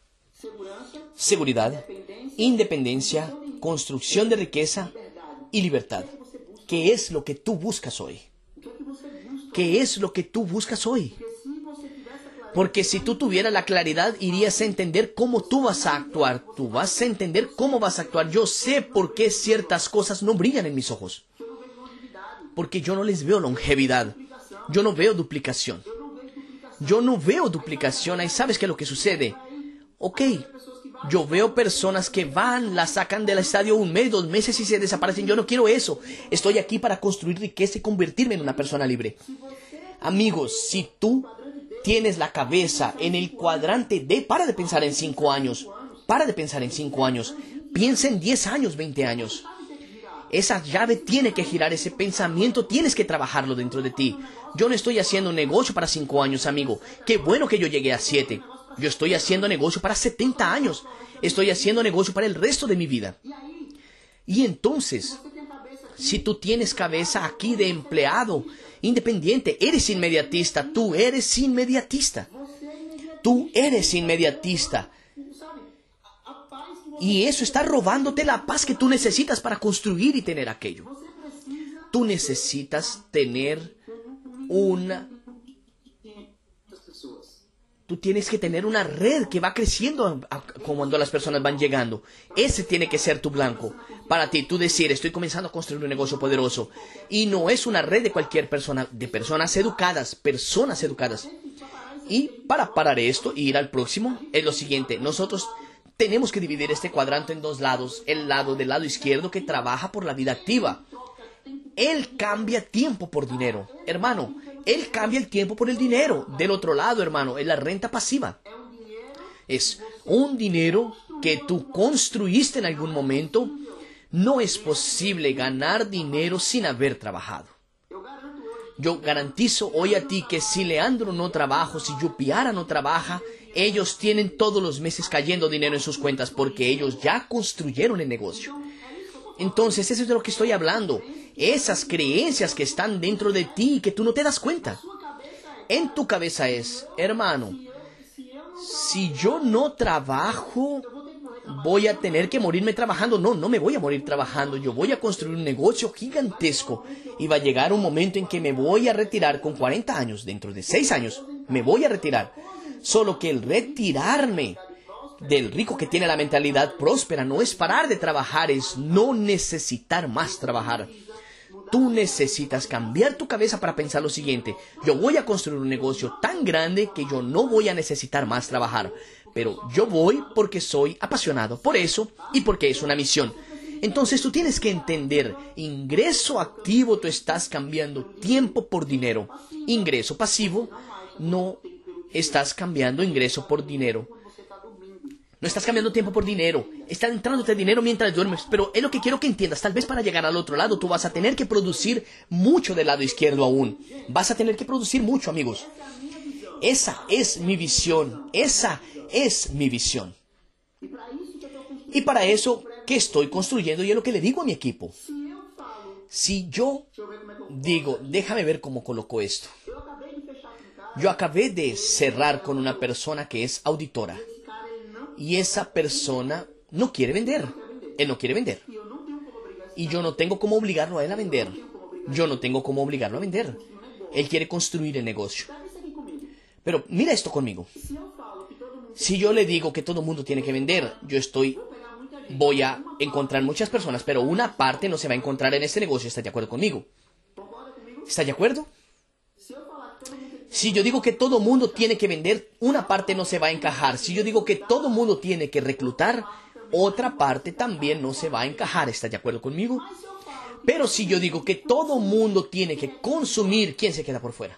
Seguridad, independencia, construcción de riqueza y libertad. ¿Qué es lo que tú buscas hoy? ¿Qué es lo que tú buscas hoy? Porque si tú tuvieras la claridad, irías a entender cómo tú vas a actuar. Tú vas a entender cómo vas a actuar. Yo sé por qué ciertas cosas no brillan en mis ojos. Porque yo no les veo longevidad. Yo no veo duplicación. Yo no veo duplicación. Ahí sabes qué es lo que sucede. Ok, yo veo personas que van, la sacan del estadio un mes, dos meses y se desaparecen. Yo no quiero eso. Estoy aquí para construir riqueza y convertirme en una persona libre. Amigos, si tú tienes la cabeza en el cuadrante D, para de pensar en cinco años. Para de pensar en cinco años. Piensa en diez años, veinte años. Esa llave tiene que girar, ese pensamiento tienes que trabajarlo dentro de ti. Yo no estoy haciendo un negocio para cinco años, amigo. Qué bueno que yo llegué a siete. Yo estoy haciendo negocio para setenta años. Estoy haciendo negocio para el resto de mi vida. Y entonces, si tú tienes cabeza aquí de empleado independiente, eres inmediatista, tú eres inmediatista. Tú eres inmediatista. Y eso está robándote la paz que tú necesitas para construir y tener aquello. Tú necesitas tener una... Tú tienes que tener una red que va creciendo cuando las personas van llegando. Ese tiene que ser tu blanco. Para ti, tú decir, estoy comenzando a construir un negocio poderoso. Y no es una red de cualquier persona, de personas educadas, personas educadas. Y para parar esto y ir al próximo, es lo siguiente. Nosotros tenemos que dividir este cuadrante en dos lados. El lado del lado izquierdo que trabaja por la vida activa. Él cambia tiempo por dinero. Hermano, él cambia el tiempo por el dinero. Del otro lado, hermano, es la renta pasiva. Es un dinero que tú construiste en algún momento. No es posible ganar dinero sin haber trabajado. Yo garantizo hoy a ti que si Leandro no trabaja, si Yupiara no trabaja, ellos tienen todos los meses cayendo dinero en sus cuentas porque ellos ya construyeron el negocio. Entonces, eso es de lo que estoy hablando. Esas creencias que están dentro de ti y que tú no te das cuenta. En tu cabeza es, hermano, si yo no trabajo, voy a tener que morirme trabajando. No, no me voy a morir trabajando. Yo voy a construir un negocio gigantesco. Y va a llegar un momento en que me voy a retirar con cuarenta años. Dentro de seis años, me voy a retirar. Solo que el retirarme del rico que tiene la mentalidad próspera no es parar de trabajar, es no necesitar más trabajar. Tú necesitas cambiar tu cabeza para pensar lo siguiente. Yo voy a construir un negocio tan grande que yo no voy a necesitar más trabajar. Pero yo voy porque soy apasionado por eso y porque es una misión. Entonces tú tienes que entender, ingreso activo, tú estás cambiando tiempo por dinero. Ingreso pasivo, no estás cambiando ingreso por dinero. No estás cambiando tiempo por dinero. Está entrándote dinero mientras duermes. Pero es lo que quiero que entiendas. Tal vez para llegar al otro lado tú vas a tener que producir mucho del lado izquierdo aún. Vas a tener que producir mucho, amigos. Esa es mi visión. Esa es mi visión. Y para eso, ¿qué estoy construyendo? Y es lo que le digo a mi equipo. Si yo digo, déjame ver cómo coloco esto. Yo acabé de cerrar con una persona que es auditora. Y esa persona no quiere vender. Él no quiere vender. Y yo no tengo cómo obligarlo a él a vender. Yo no tengo cómo obligarlo a vender. Él quiere construir el negocio. Pero mira esto conmigo. Si yo le digo que todo el mundo tiene que vender, yo estoy... Voy a encontrar muchas personas, pero una parte no se va a encontrar en este negocio. ¿Está de acuerdo conmigo? ¿Está de acuerdo? Si yo digo que todo mundo tiene que vender, una parte no se va a encajar. Si yo digo que todo mundo tiene que reclutar, otra parte también no se va a encajar. ¿Está de acuerdo conmigo? Pero si yo digo que todo mundo tiene que consumir, ¿quién se queda por fuera?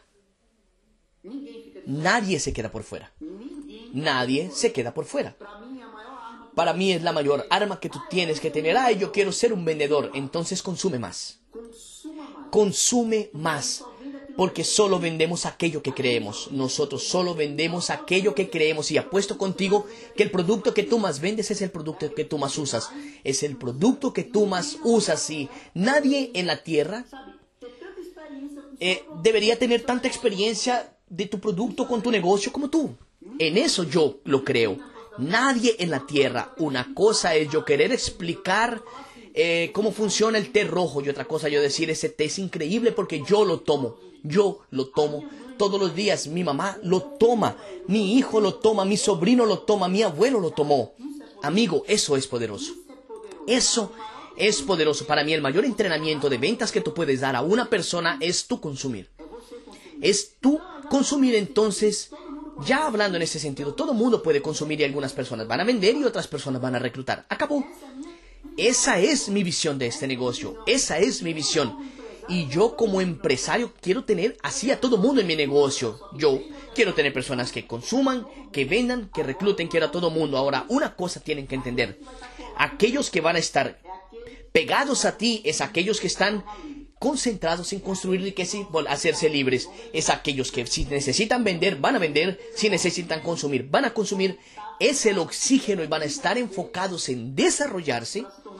Nadie se queda por fuera. Nadie se queda por fuera. Para mí es la mayor arma que tú tienes que tener. Ay, yo quiero ser un vendedor. Entonces consume más. Consume más. Porque solo vendemos aquello que creemos. Nosotros solo vendemos aquello que creemos. Y apuesto contigo que el producto que tú más vendes es el producto que tú más usas. Es el producto que tú más usas. Y nadie en la tierra eh, debería tener tanta experiencia de tu producto con tu negocio como tú. En eso yo lo creo. Nadie en la tierra. Una cosa es yo querer explicar eh, cómo funciona el té rojo. Y otra cosa yo decir, ese té es increíble porque yo lo tomo. Yo lo tomo todos los días. Mi mamá lo toma. Mi hijo lo toma. Mi sobrino lo toma. Mi abuelo lo tomó. Amigo, eso es poderoso. Eso es poderoso. Para mí el mayor entrenamiento de ventas que tú puedes dar a una persona es tú consumir. Es tú consumir. Entonces, ya hablando en ese sentido, todo el mundo puede consumir y algunas personas van a vender y otras personas van a reclutar. Acabó. Esa es mi visión de este negocio. Esa es mi visión. Y yo como empresario quiero tener así a todo mundo en mi negocio. Yo quiero tener personas que consuman, que vendan, que recluten. Quiero a todo mundo. Ahora, una cosa tienen que entender. Aquellos que van a estar pegados a ti es aquellos que están concentrados en construir riqueza y hacerse libres. Es aquellos que si necesitan vender, van a vender. Si necesitan consumir, van a consumir. Es el oxígeno y van a estar enfocados en desarrollarse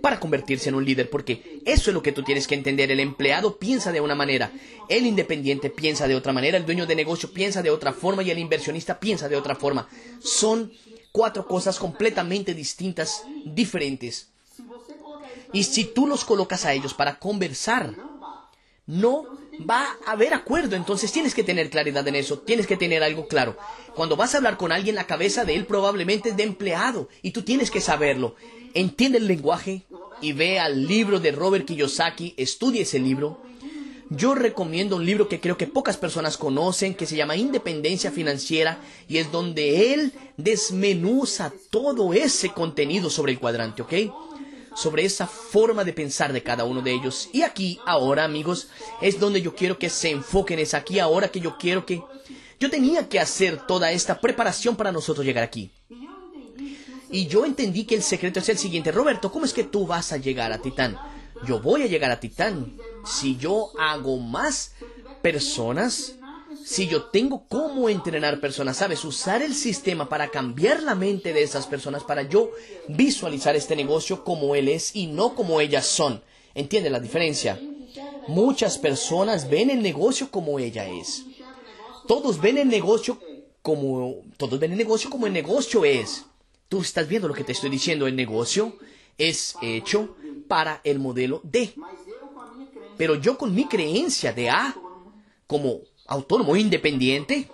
para convertirse en un líder, porque eso es lo que tú tienes que entender. El empleado piensa de una manera, el independiente piensa de otra manera, el dueño de negocio piensa de otra forma y el inversionista piensa de otra forma. Son cuatro cosas completamente distintas, diferentes. Y si tú los colocas a ellos para conversar, no va a haber acuerdo. Entonces tienes que tener claridad en eso, tienes que tener algo claro. Cuando vas a hablar con alguien, la cabeza de él probablemente es de empleado y tú tienes que saberlo. Entiende el lenguaje y ve al libro de Robert Kiyosaki, estudie ese libro. Yo recomiendo un libro que creo que pocas personas conocen, que se llama Independencia Financiera, y es donde él desmenuza todo ese contenido sobre el cuadrante, ¿ok? Sobre esa forma de pensar de cada uno de ellos. Y aquí, ahora, amigos, es donde yo quiero que se enfoquen. Es aquí, ahora, que yo quiero que... Yo tenía que hacer toda esta preparación para nosotros llegar aquí. Y yo entendí que el secreto es el siguiente. Roberto, ¿cómo es que tú vas a llegar a Titán? Yo voy a llegar a Titán si yo hago más personas, si yo tengo cómo entrenar personas, ¿sabes? Usar el sistema para cambiar la mente de esas personas, para yo visualizar este negocio como él es y no como ellas son. ¿Entiende la diferencia? Muchas personas ven el negocio como ella es. Todos ven el negocio como, todos ven el negocio como el negocio es. Tú estás viendo lo que te estoy diciendo. El negocio es hecho para el modelo D. Pero yo con mi creencia de A, como autónomo independiente,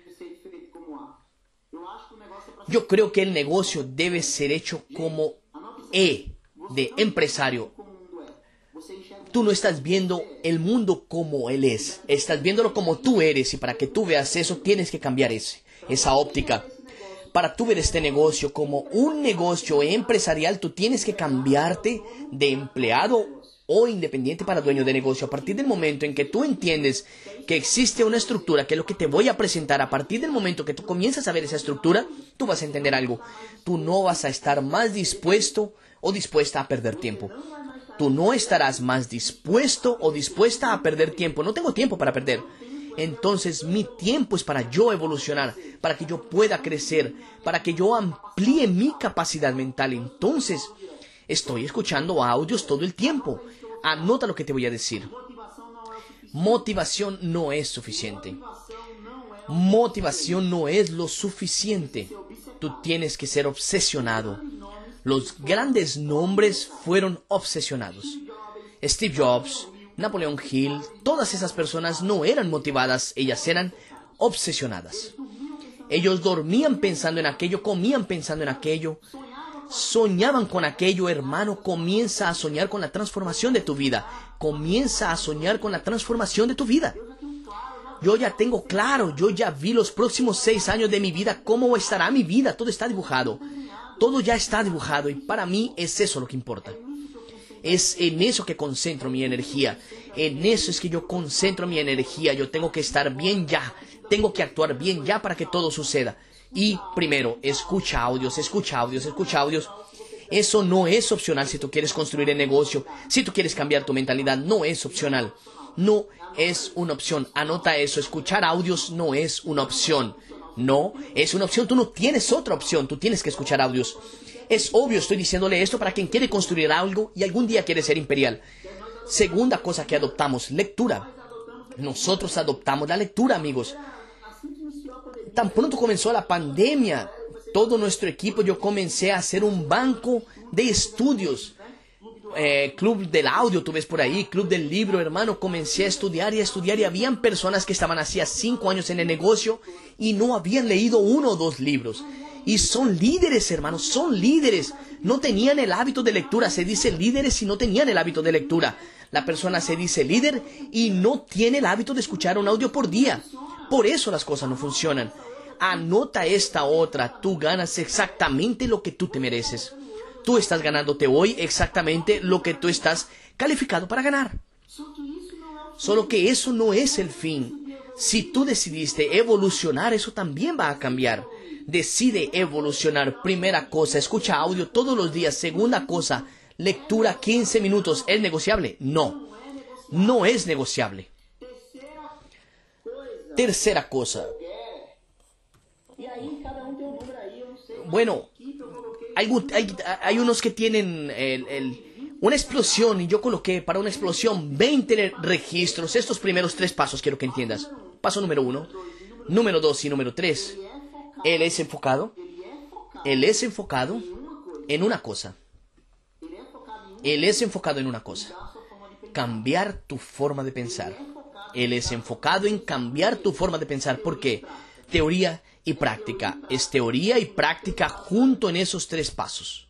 yo creo que el negocio debe ser hecho como E, de empresario. Tú no estás viendo el mundo como él es, estás viéndolo como tú eres, y para que tú veas eso tienes que cambiar ese, esa óptica. Para tú ver este negocio como un negocio empresarial, tú tienes que cambiarte de empleado o independiente para dueño de negocio. A partir del momento en que tú entiendes que existe una estructura, que es lo que te voy a presentar, a partir del momento que tú comienzas a ver esa estructura, tú vas a entender algo. Tú no vas a estar más dispuesto o dispuesta a perder tiempo. Tú no estarás más dispuesto o dispuesta a perder tiempo. No tengo tiempo para perder. Entonces mi tiempo es para yo evolucionar, para que yo pueda crecer, para que yo amplíe mi capacidad mental. Entonces estoy escuchando audios todo el tiempo. Anota lo que te voy a decir. Motivación no es suficiente. Motivación no es lo suficiente. Tú tienes que ser obsesionado. Los grandes nombres fueron obsesionados. Steve Jobs, Napoleon Hill, todas esas personas no eran motivadas, ellas eran obsesionadas. Ellos dormían pensando en aquello, comían pensando en aquello, soñaban con aquello. Hermano, comienza a soñar con la transformación de tu vida. Comienza a soñar con la transformación de tu vida. Yo ya tengo claro, yo ya vi los próximos seis años de mi vida, cómo estará mi vida, todo está dibujado. Todo ya está dibujado y para mí es eso lo que importa. Es en eso que concentro mi energía. En eso es que yo concentro mi energía. Yo tengo que estar bien ya. Tengo que actuar bien ya para que todo suceda. Y primero, escucha audios, escucha audios, escucha audios. Eso no es opcional si tú quieres construir el negocio. Si tú quieres cambiar tu mentalidad, no es opcional. No es una opción. Anota eso. Escuchar audios no es una opción. No, es una opción. Tú no tienes otra opción. Tú tienes que escuchar audios. Es obvio, estoy diciéndole esto para quien quiere construir algo y algún día quiere ser imperial. Segunda cosa que adoptamos, lectura. Nosotros adoptamos la lectura, amigos. Tan pronto comenzó la pandemia, todo nuestro equipo, yo comencé a hacer un banco de estudios. Eh, club del audio, tú ves por ahí, club del libro, hermano. Comencé a estudiar y a estudiar y habían personas que estaban hacía cinco años en el negocio y no habían leído uno o dos libros. Y son líderes, hermanos, son líderes. No tenían el hábito de lectura. Se dice líderes y no tenían el hábito de lectura. La persona se dice líder y no tiene el hábito de escuchar un audio por día. Por eso las cosas no funcionan. Anota esta otra. Tú ganas exactamente lo que tú te mereces. Tú estás ganándote hoy exactamente lo que tú estás calificado para ganar. Solo que eso no es el fin. Si tú decidiste evolucionar, eso también va a cambiar. Decide evolucionar. Primera cosa, escucha audio todos los días. Segunda cosa, lectura quince minutos. ¿Es negociable? No. No es negociable. Tercera cosa. Bueno, hay, hay, hay unos que tienen el, el, Una explosión, y yo coloqué para una explosión veinte registros. Estos primeros tres pasos quiero que entiendas. Paso número uno, número dos y número tres. Él es enfocado. Él es enfocado en una cosa. Él es enfocado en una cosa. Cambiar tu forma de pensar. Él es enfocado en cambiar tu forma de pensar. ¿Por qué? Teoría y práctica. Es teoría y práctica junto en esos tres pasos.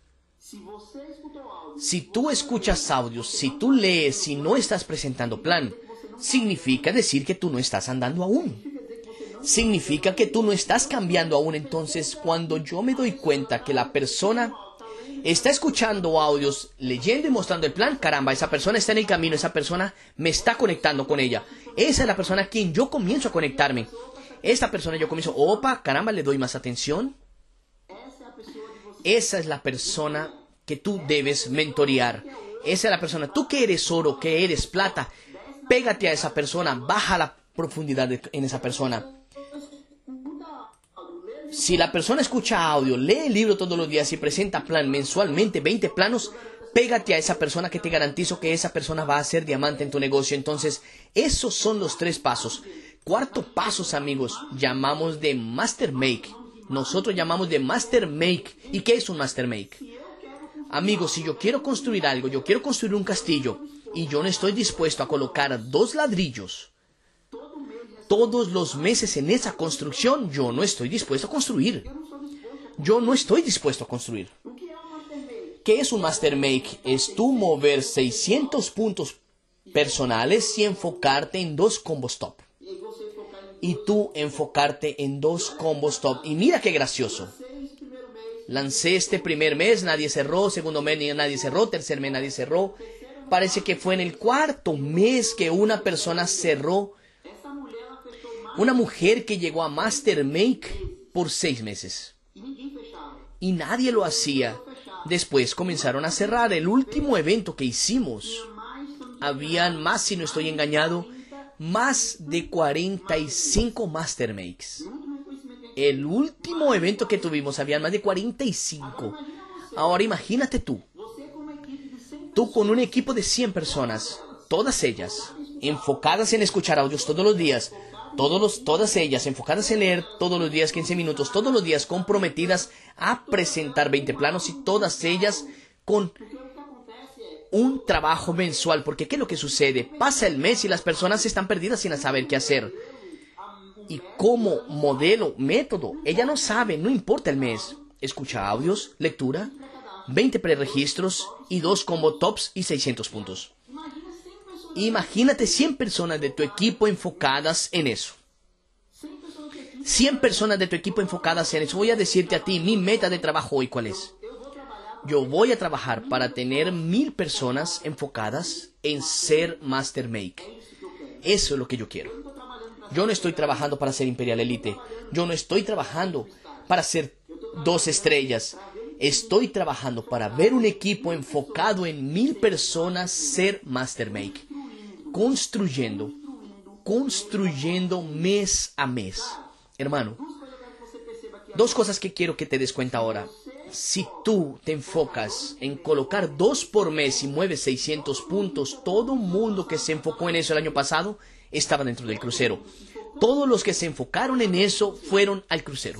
Si tú escuchas audios, si tú lees y no estás presentando plan, significa decir que tú no estás andando aún. Significa que tú no estás cambiando aún. Entonces, cuando yo me doy cuenta que la persona está escuchando audios, leyendo y mostrando el plan, caramba, esa persona está en el camino, esa persona me está conectando con ella. Esa es la persona a quien yo comienzo a conectarme. Esta persona yo comienzo, opa, caramba, le doy más atención. Esa es la persona que tú debes mentorear. Esa es la persona, tú que eres oro, que eres plata, pégate a esa persona, baja la profundidad de, en esa persona. Si la persona escucha audio, lee el libro todos los días y presenta plan mensualmente, veinte planos, pégate a esa persona que te garantizo que esa persona va a ser diamante en tu negocio. Entonces, esos son los tres pasos. Cuarto pasos, amigos, llamamos de Master Make. Nosotros llamamos de Master Make. ¿Y qué es un Master Make? Amigos, si yo quiero construir algo, yo quiero construir un castillo y yo no estoy dispuesto a colocar dos ladrillos todos los meses en esa construcción, yo no estoy dispuesto a construir. Yo no estoy dispuesto a construir. ¿Qué es un Master Make? Es tú mover seiscientos puntos personales y enfocarte en dos combos top. Y tú enfocarte en dos combos top. Y mira qué gracioso. Lancé este primer mes, nadie cerró. Segundo mes, nadie cerró. Tercer mes, nadie cerró. Parece que fue en el cuarto mes que una persona cerró. Una mujer que llegó a Master Make por seis meses. Y nadie lo hacía. Después comenzaron a cerrar. El último evento que hicimos, habían más, si no estoy engañado, más de cuarenta y cinco Master Makes. El último evento que tuvimos, habían más de cuarenta y cinco. Ahora imagínate tú. Tú con un equipo de cien personas, todas ellas enfocadas en escuchar audios todos los días, todos los, todas ellas enfocadas en leer todos los días quince minutos, todos los días comprometidas a presentar veinte planos y todas ellas con un trabajo mensual. Porque ¿qué es lo que sucede? Pasa el mes y las personas están perdidas sin saber qué hacer. Y como modelo, método, ella no sabe, no importa el mes. Escucha audios, lectura, veinte preregistros y dos combo tops y seiscientos puntos. Imagínate cien personas de tu equipo enfocadas en eso. cien personas de tu equipo enfocadas en eso. Voy a decirte a ti, mi meta de trabajo hoy, ¿cuál es? Yo voy a trabajar para tener mil personas enfocadas en ser Master Make. Eso es lo que yo quiero. Yo no estoy trabajando para ser Imperial Elite. Yo no estoy trabajando para ser dos estrellas. Estoy trabajando para ver un equipo enfocado en mil personas ser Master Make. Construyendo, construyendo mes a mes. Hermano, dos cosas que quiero que te des cuenta ahora. Si tú te enfocas en colocar dos por mes y mueves seiscientos puntos, todo mundo que se enfocó en eso el año pasado estaba dentro del crucero. Todos los que se enfocaron en eso fueron al crucero.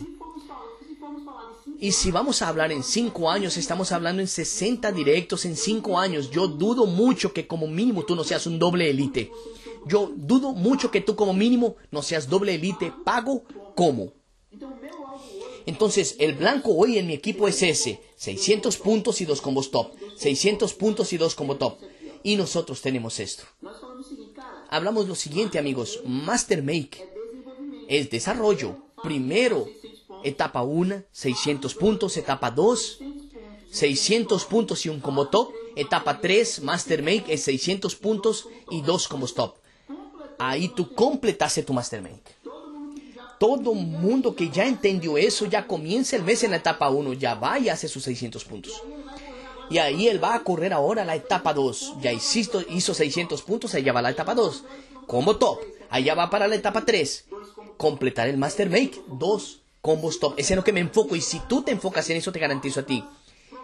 Y si vamos a hablar en cinco años, estamos hablando en sesenta directos en cinco años. Yo dudo mucho que como mínimo tú no seas un doble elite. Yo dudo mucho que tú como mínimo no seas doble elite pago como. Entonces, el blanco hoy en mi equipo es ese. seiscientos puntos y dos combos top. seiscientos puntos y dos combos top. Y nosotros tenemos esto. Hablamos lo siguiente, amigos. Master Make es desarrollo. Primero, etapa uno, seiscientos puntos. Etapa dos, seiscientos puntos y un combo top. Etapa tres, Master Make es seiscientos puntos y dos combos top. Ahí tú completaste tu Master Make. Todo mundo que ya entendió eso, ya comienza el mes en la etapa uno. Ya va y hace sus seiscientos puntos. Y ahí él va a correr ahora la etapa dos. Ya hizo, hizo seiscientos puntos, ahí ya va la etapa dos. Combo top. Allá va para la etapa tres. Completar el Master Make. Dos combos top. Ese es lo que me enfoco. Y si tú te enfocas en eso, te garantizo a ti.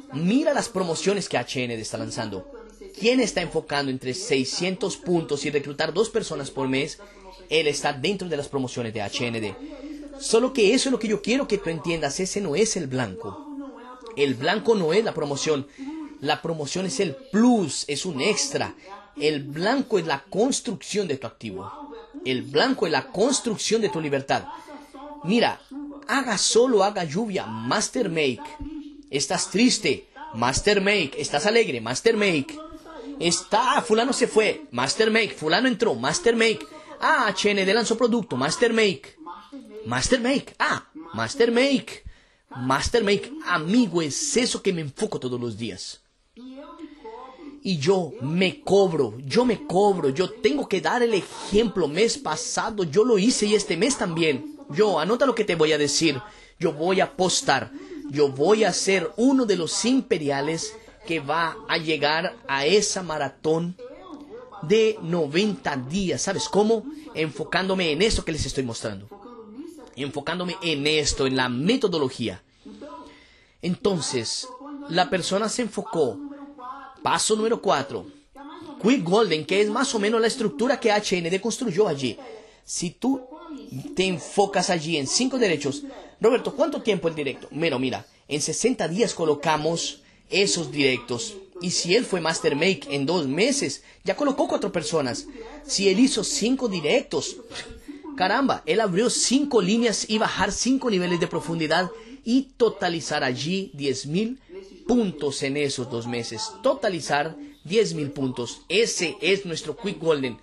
Mira las promociones que H N D está lanzando. ¿Quién está enfocando entre seiscientos puntos y reclutar dos personas por mes? Él está dentro de las promociones de H N D. Solo que eso es lo que yo quiero que tú entiendas. Ese no es el blanco. El blanco no es la promoción. La promoción es el plus, es un extra. El blanco es la construcción de tu activo. El blanco es la construcción de tu libertad. Mira, haga solo, haga lluvia, Master Make. Estás triste, Master Make. Estás alegre, Master Make. Está, fulano se fue, Master Make. Fulano entró, Master Make. Ah, H N D lanzó producto, Master Make. Master Make, ah, Master Make. Master Make, amigo, es eso que me enfoco todos los días. Y yo me cobro, yo me cobro, yo tengo que dar el ejemplo. Mes pasado yo lo hice y este mes también. Yo, anota lo que te voy a decir. Yo voy a apostar, yo voy a ser uno de los imperiales que va a llegar a esa maratón de noventa días. ¿Sabes cómo? Enfocándome en esto que les estoy mostrando. Enfocándome en esto, en la metodología. Entonces, la persona se enfocó. Paso número cuatro. Quick Golden, que es más o menos la estructura que H N D construyó allí. Si tú te enfocas allí en cinco derechos. Roberto, ¿cuánto tiempo el directo? Mira, mira, en sesenta días colocamos esos directos. Y si él fue Master Make en dos meses, ya colocó cuatro personas. Si él hizo cinco directos, caramba, él abrió cinco líneas y bajar cinco niveles de profundidad y totalizar allí diez mil puntos en esos dos meses. Totalizar diez mil puntos. Ese es nuestro Quick Golden.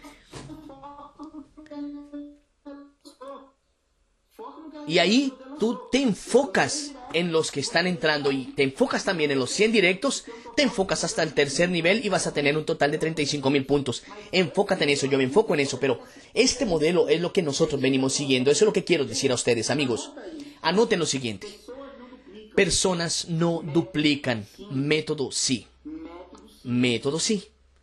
Y ahí tú te enfocas en los que están entrando y te enfocas también en los cien directos, te enfocas hasta el tercer nivel y vas a tener un total de treinta y cinco mil puntos. Enfócate en eso, yo me enfoco en eso, pero este modelo es lo que nosotros venimos siguiendo. Eso es lo que quiero decir a ustedes, amigos. Anoten lo siguiente. Personas no duplican, método sí. Método sí.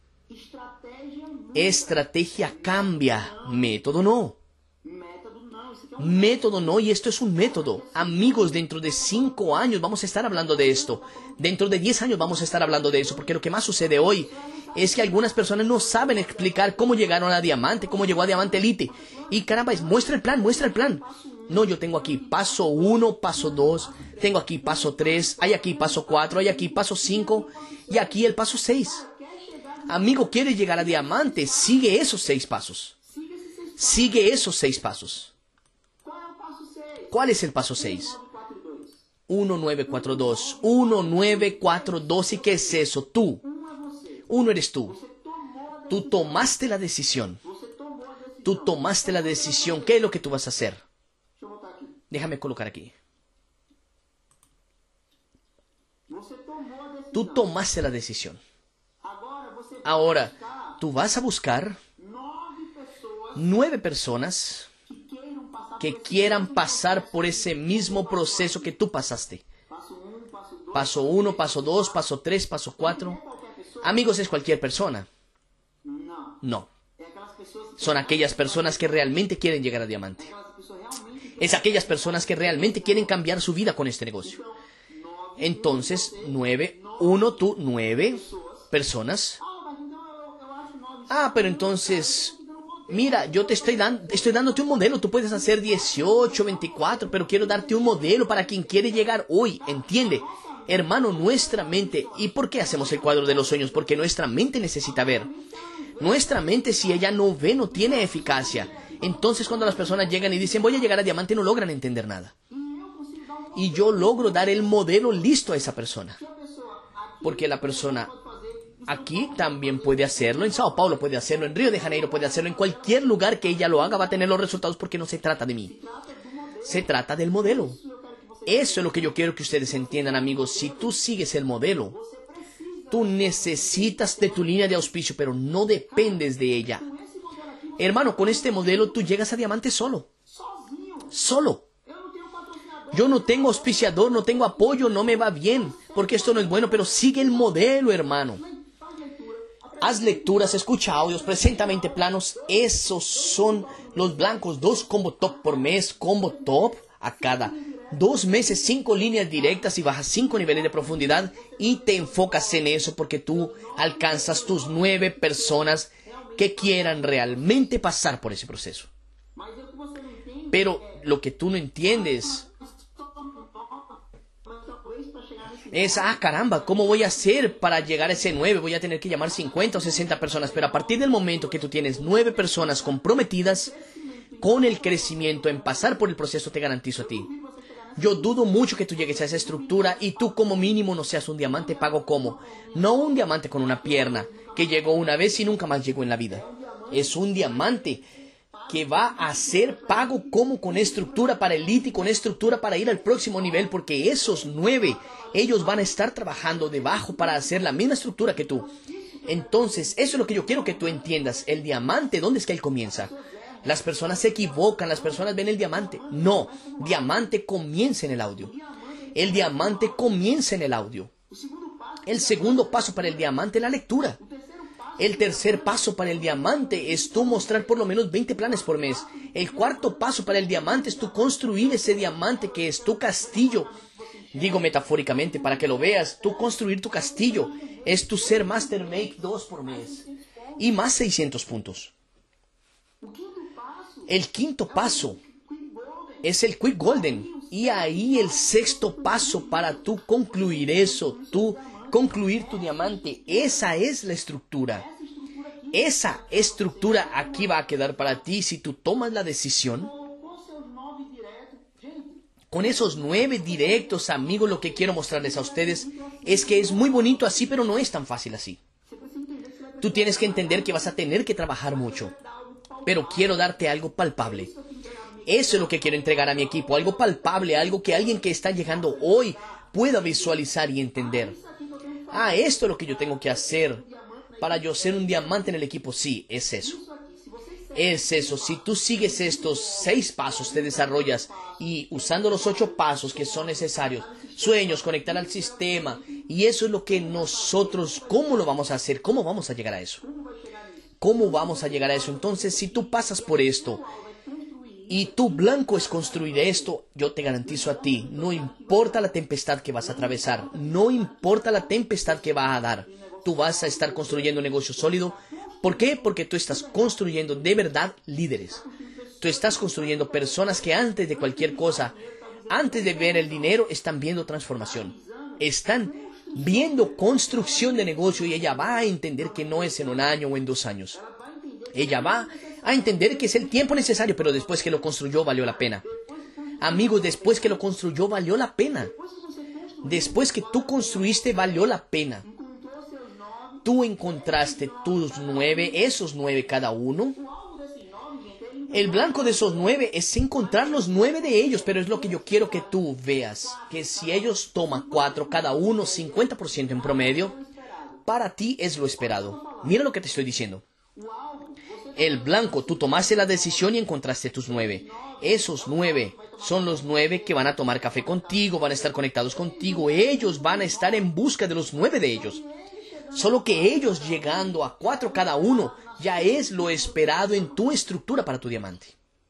Estrategia cambia, método no. Método no, y esto es un método. Amigos, dentro de cinco años vamos a estar hablando de esto. Dentro de diez años vamos a estar hablando de eso, porque lo que más sucede hoy es que algunas personas no saben explicar cómo llegaron a diamante, cómo llegó a diamante elite. Y caramba, muestra el plan, muestra el plan. No, yo tengo aquí paso uno, paso dos, tengo aquí paso tres, hay aquí paso cuatro, hay aquí paso cinco y aquí el paso seis. Amigo, ¿quieres llegar a diamante? Sigue esos seis pasos. Sigue esos seis pasos. ¿Cuál es el paso seis? uno nueve cuatro dos. uno nueve cuatro dos. ¿Y qué es eso? Tú. Uno eres tú. Tú tomaste la decisión. Tú tomaste la decisión. ¿Qué es lo que tú vas a hacer? Déjame colocar aquí. Tú tomaste la decisión. Ahora, tú vas a buscar nueve personas que quieran pasar por ese mismo proceso que tú pasaste. Paso uno, paso dos, paso tres, paso cuatro. Amigos, ¿es cualquier persona? No. Son aquellas personas que realmente quieren llegar a diamante. Es aquellas personas que realmente quieren cambiar su vida con este negocio. Entonces, nueve, uno, tú, nueve personas. Ah, pero entonces, mira, yo te estoy dando, estoy dándote un modelo. Tú puedes hacer dieciocho, veinticuatro, pero quiero darte un modelo para quien quiere llegar hoy. ¿Entiende? Hermano, nuestra mente. ¿Y por qué hacemos el cuadro de los sueños? Porque nuestra mente necesita ver. Nuestra mente, si ella no ve, no tiene eficacia. Entonces, cuando las personas llegan y dicen, voy a llegar a diamante, no logran entender nada. Y yo logro dar el modelo listo a esa persona. Porque la persona aquí también puede hacerlo, en Sao Paulo puede hacerlo, en Río de Janeiro puede hacerlo, en cualquier lugar que ella lo haga va a tener los resultados, porque no se trata de mí. Se trata del modelo. Eso es lo que yo quiero que ustedes entiendan, amigos. Si tú sigues el modelo, tú necesitas de tu línea de auspicio, pero no dependes de ella. Hermano, con este modelo tú llegas a diamante solo. Solo. Yo no tengo auspiciador, no tengo apoyo, no me va bien, porque esto no es bueno, pero sigue el modelo, hermano. Haz lecturas, escucha audios, presenta veinte planos. Esos son los blancos. Dos combo top por mes, combo top a cada dos meses, cinco líneas directas y bajas cinco niveles de profundidad y te enfocas en eso porque tú alcanzas tus nueve personas que quieran realmente pasar por ese proceso. Pero lo que tú no entiendes es, ah, caramba, ¿cómo voy a hacer para llegar a ese nueve? Voy a tener que llamar cincuenta o sesenta personas. Pero a partir del momento que tú tienes nueve personas comprometidas con el crecimiento, en pasar por el proceso, te garantizo a ti. Yo dudo mucho que tú llegues a esa estructura y tú como mínimo no seas un diamante pago como. No un diamante con una pierna que llegó una vez y nunca más llegó en la vida. Es un diamante que va a ser pago como con estructura para elite y con estructura para ir al próximo nivel, porque esos nueve, ellos van a estar trabajando debajo para hacer la misma estructura que tú. Entonces, eso es lo que yo quiero que tú entiendas. El diamante, ¿dónde es que él comienza? Las personas se equivocan, las personas ven el diamante. No, diamante comienza en el audio. El diamante comienza en el audio. El segundo paso para el diamante es la lectura. El tercer paso para el diamante es tú mostrar por lo menos veinte planes por mes. El cuarto paso para el diamante es tú construir ese diamante que es tu castillo. Digo metafóricamente para que lo veas. Tú construir tu castillo es tu ser Master Make dos por mes. Y más seiscientos puntos. El quinto paso es el Quick Golden. Y ahí el sexto paso para tú concluir eso, tú concluir tu diamante. Esa es la estructura. Esa estructura aquí va a quedar para ti si tú tomas la decisión. Con esos nueve directos, amigos, lo que quiero mostrarles a ustedes es que es muy bonito así, pero no es tan fácil así. Tú tienes que entender que vas a tener que trabajar mucho. Pero quiero darte algo palpable. Eso es lo que quiero entregar a mi equipo. Algo palpable, algo que alguien que está llegando hoy pueda visualizar y entender. Ah, esto es lo que yo tengo que hacer para yo ser un diamante en el equipo. Sí, es eso. Es eso. Si tú sigues estos seis pasos, te desarrollas y usando los ocho pasos que son necesarios, sueños, conectar al sistema, y eso es lo que nosotros, ¿cómo lo vamos a hacer? ¿Cómo vamos a llegar a eso? ¿Cómo vamos a llegar a eso? Entonces, si tú pasas por esto y tu blanco es construir esto, yo te garantizo a ti, no importa la tempestad que vas a atravesar, no importa la tempestad que va a dar, tú vas a estar construyendo un negocio sólido. ¿Por qué? Porque tú estás construyendo de verdad líderes. Tú estás construyendo personas que antes de cualquier cosa, antes de ver el dinero, están viendo transformación. Están viendo construcción de negocio y ella va a entender que no es en un año o en dos años. Ella va a entender que es el tiempo necesario, pero después que lo construyó valió la pena. Amigos, después que lo construyó valió la pena. Después que tú construiste valió la pena. Tú encontraste tus nueve, esos nueve cada uno. El blanco de esos nueve es encontrar los nueve de ellos, pero es lo que yo quiero que tú veas. Que si ellos toman cuatro, cada uno, cincuenta por ciento en promedio, para ti es lo esperado. Mira lo que te estoy diciendo. El blanco, tú tomaste la decisión y encontraste tus nueve. Esos nueve son los nueve que van a tomar café contigo, van a estar conectados contigo. Ellos van a estar en busca de los nueve de ellos. Solo que ellos llegando a cuatro cada uno ya es lo esperado en tu estructura para tu diamante.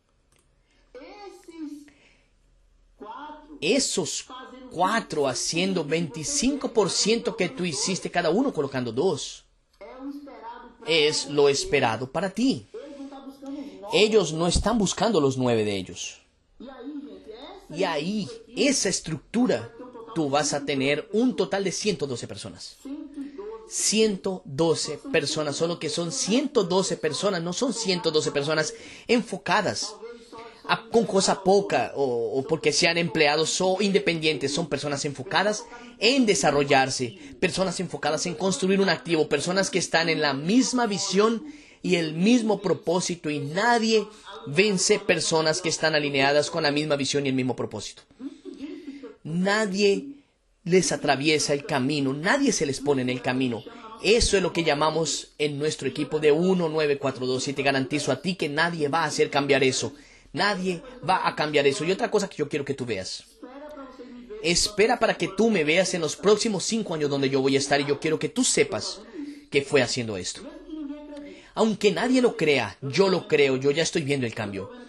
Esos cuatro haciendo veinticinco por ciento que tú hiciste cada uno colocando dos. Es lo esperado para ti. Ellos no están buscando los nueve de ellos. Y ahí, esa estructura, tú vas a tener un total de ciento doce personas. ciento doce personas, solo que son ciento doce personas, no son ciento doce personas enfocadas a, con cosa poca o, o porque sean empleados o independientes, son personas enfocadas en desarrollarse, personas enfocadas en construir un activo, personas que están en la misma visión y el mismo propósito, y nadie vence personas que están alineadas con la misma visión y el mismo propósito. Nadie les atraviesa el camino, nadie se les pone en el camino. Eso es lo que llamamos en nuestro equipo de uno nueve cuatro dos, y te garantizo a ti que nadie va a hacer cambiar eso. Nadie va a cambiar eso. Y otra cosa que yo quiero que tú veas. Espera para que tú me veas en los próximos cinco años donde yo voy a estar, y yo quiero que tú sepas que fue haciendo esto. Aunque nadie lo crea, yo lo creo, yo ya estoy viendo el cambio.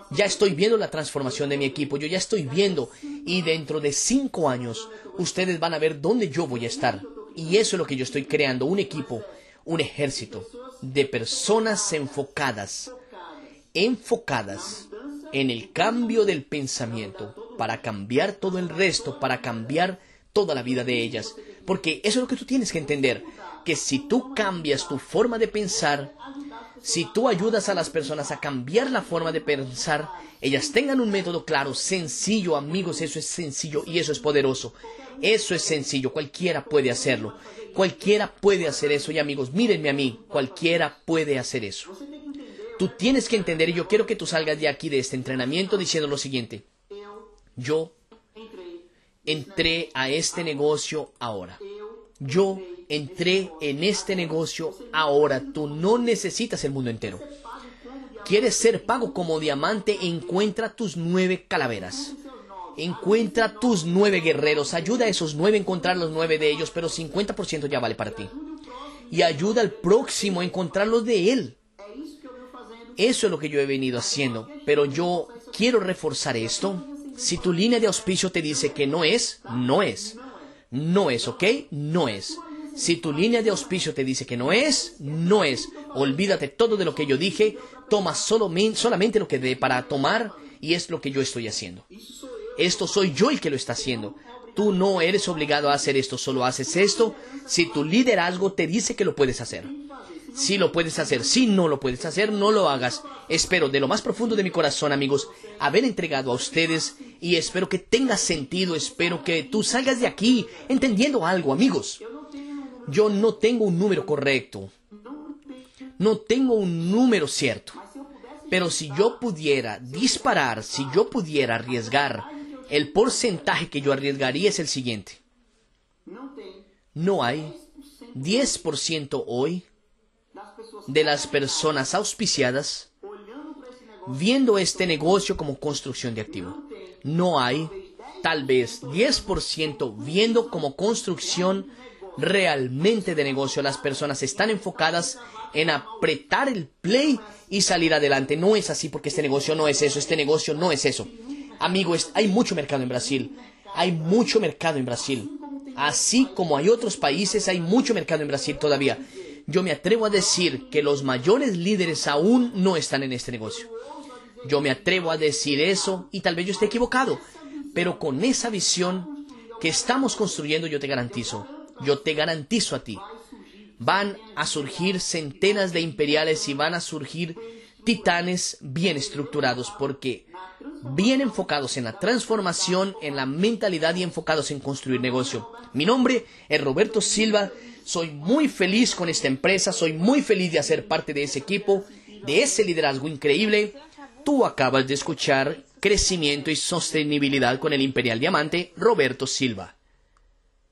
Ya estoy viendo la transformación de mi equipo, yo ya estoy viendo. Y dentro de cinco años, ustedes van a ver dónde yo voy a estar. Y eso es lo que yo estoy creando, un equipo, un ejército de personas enfocadas, enfocadas en el cambio del pensamiento, para cambiar todo el resto, para cambiar toda la vida de ellas. Porque eso es lo que tú tienes que entender, que si tú cambias tu forma de pensar, si tú ayudas a las personas a cambiar la forma de pensar, ellas tengan un método claro, sencillo, amigos, eso es sencillo y eso es poderoso. Eso es sencillo, cualquiera puede hacerlo. Cualquiera puede hacer eso y amigos, mírenme a mí, cualquiera puede hacer eso. Tú tienes que entender, y yo quiero que tú salgas de aquí, de este entrenamiento, diciendo lo siguiente. Yo entré a este negocio ahora. Yo entré en este negocio ahora. Tú no necesitas el mundo entero. ¿Quieres ser pago como diamante? Encuentra tus nueve calaveras. Encuentra tus nueve guerreros. Ayuda a esos nueve a encontrar los nueve de ellos, pero cincuenta por ciento ya vale para ti. Y ayuda al próximo a encontrar los de él. Eso es lo que yo he venido haciendo. Pero yo quiero reforzar esto. Si tu línea de auspicio te dice que no es, no es. No es, ¿ok? No es. Si tu línea de auspicio te dice que no es, no es. Olvídate todo de lo que yo dije. Toma solo, solamente lo que dé para tomar y es lo que yo estoy haciendo. Esto soy yo el que lo está haciendo. Tú no eres obligado a hacer esto, solo haces esto si tu liderazgo te dice que lo puedes hacer. Si lo puedes hacer, si no lo puedes hacer, no lo hagas. Espero de lo más profundo de mi corazón, amigos, haber entregado a ustedes y espero que tenga sentido, espero que tú salgas de aquí entendiendo algo, amigos. Yo no tengo un número correcto, no tengo un número cierto, pero si yo pudiera disparar, si yo pudiera arriesgar, el porcentaje que yo arriesgaría es el siguiente. No hay diez por ciento hoy de las personas auspiciadas viendo este negocio como construcción de activo. No hay tal vez diez por ciento viendo como construcción realmente de negocio. Las personas están enfocadas en apretar el play y salir adelante. No es así, porque este negocio no es eso, este negocio no es eso. Amigos, hay mucho mercado en Brasil, hay mucho mercado en Brasil. Así como hay otros países, hay mucho mercado en Brasil todavía. Yo me atrevo a decir que los mayores líderes aún no están en este negocio. Yo me atrevo a decir eso y tal vez yo esté equivocado. Pero con esa visión que estamos construyendo, yo te garantizo, yo te garantizo a ti, van a surgir centenas de imperiales y van a surgir titanes bien estructurados, porque bien enfocados en la transformación, en la mentalidad y enfocados en construir negocio. Mi nombre es Roberto Silva. Soy muy feliz con esta empresa, soy muy feliz de hacer parte de ese equipo, de ese liderazgo increíble. Tú acabas de escuchar Crecimiento y Sostenibilidad con el Imperial Diamante, Roberto Silva.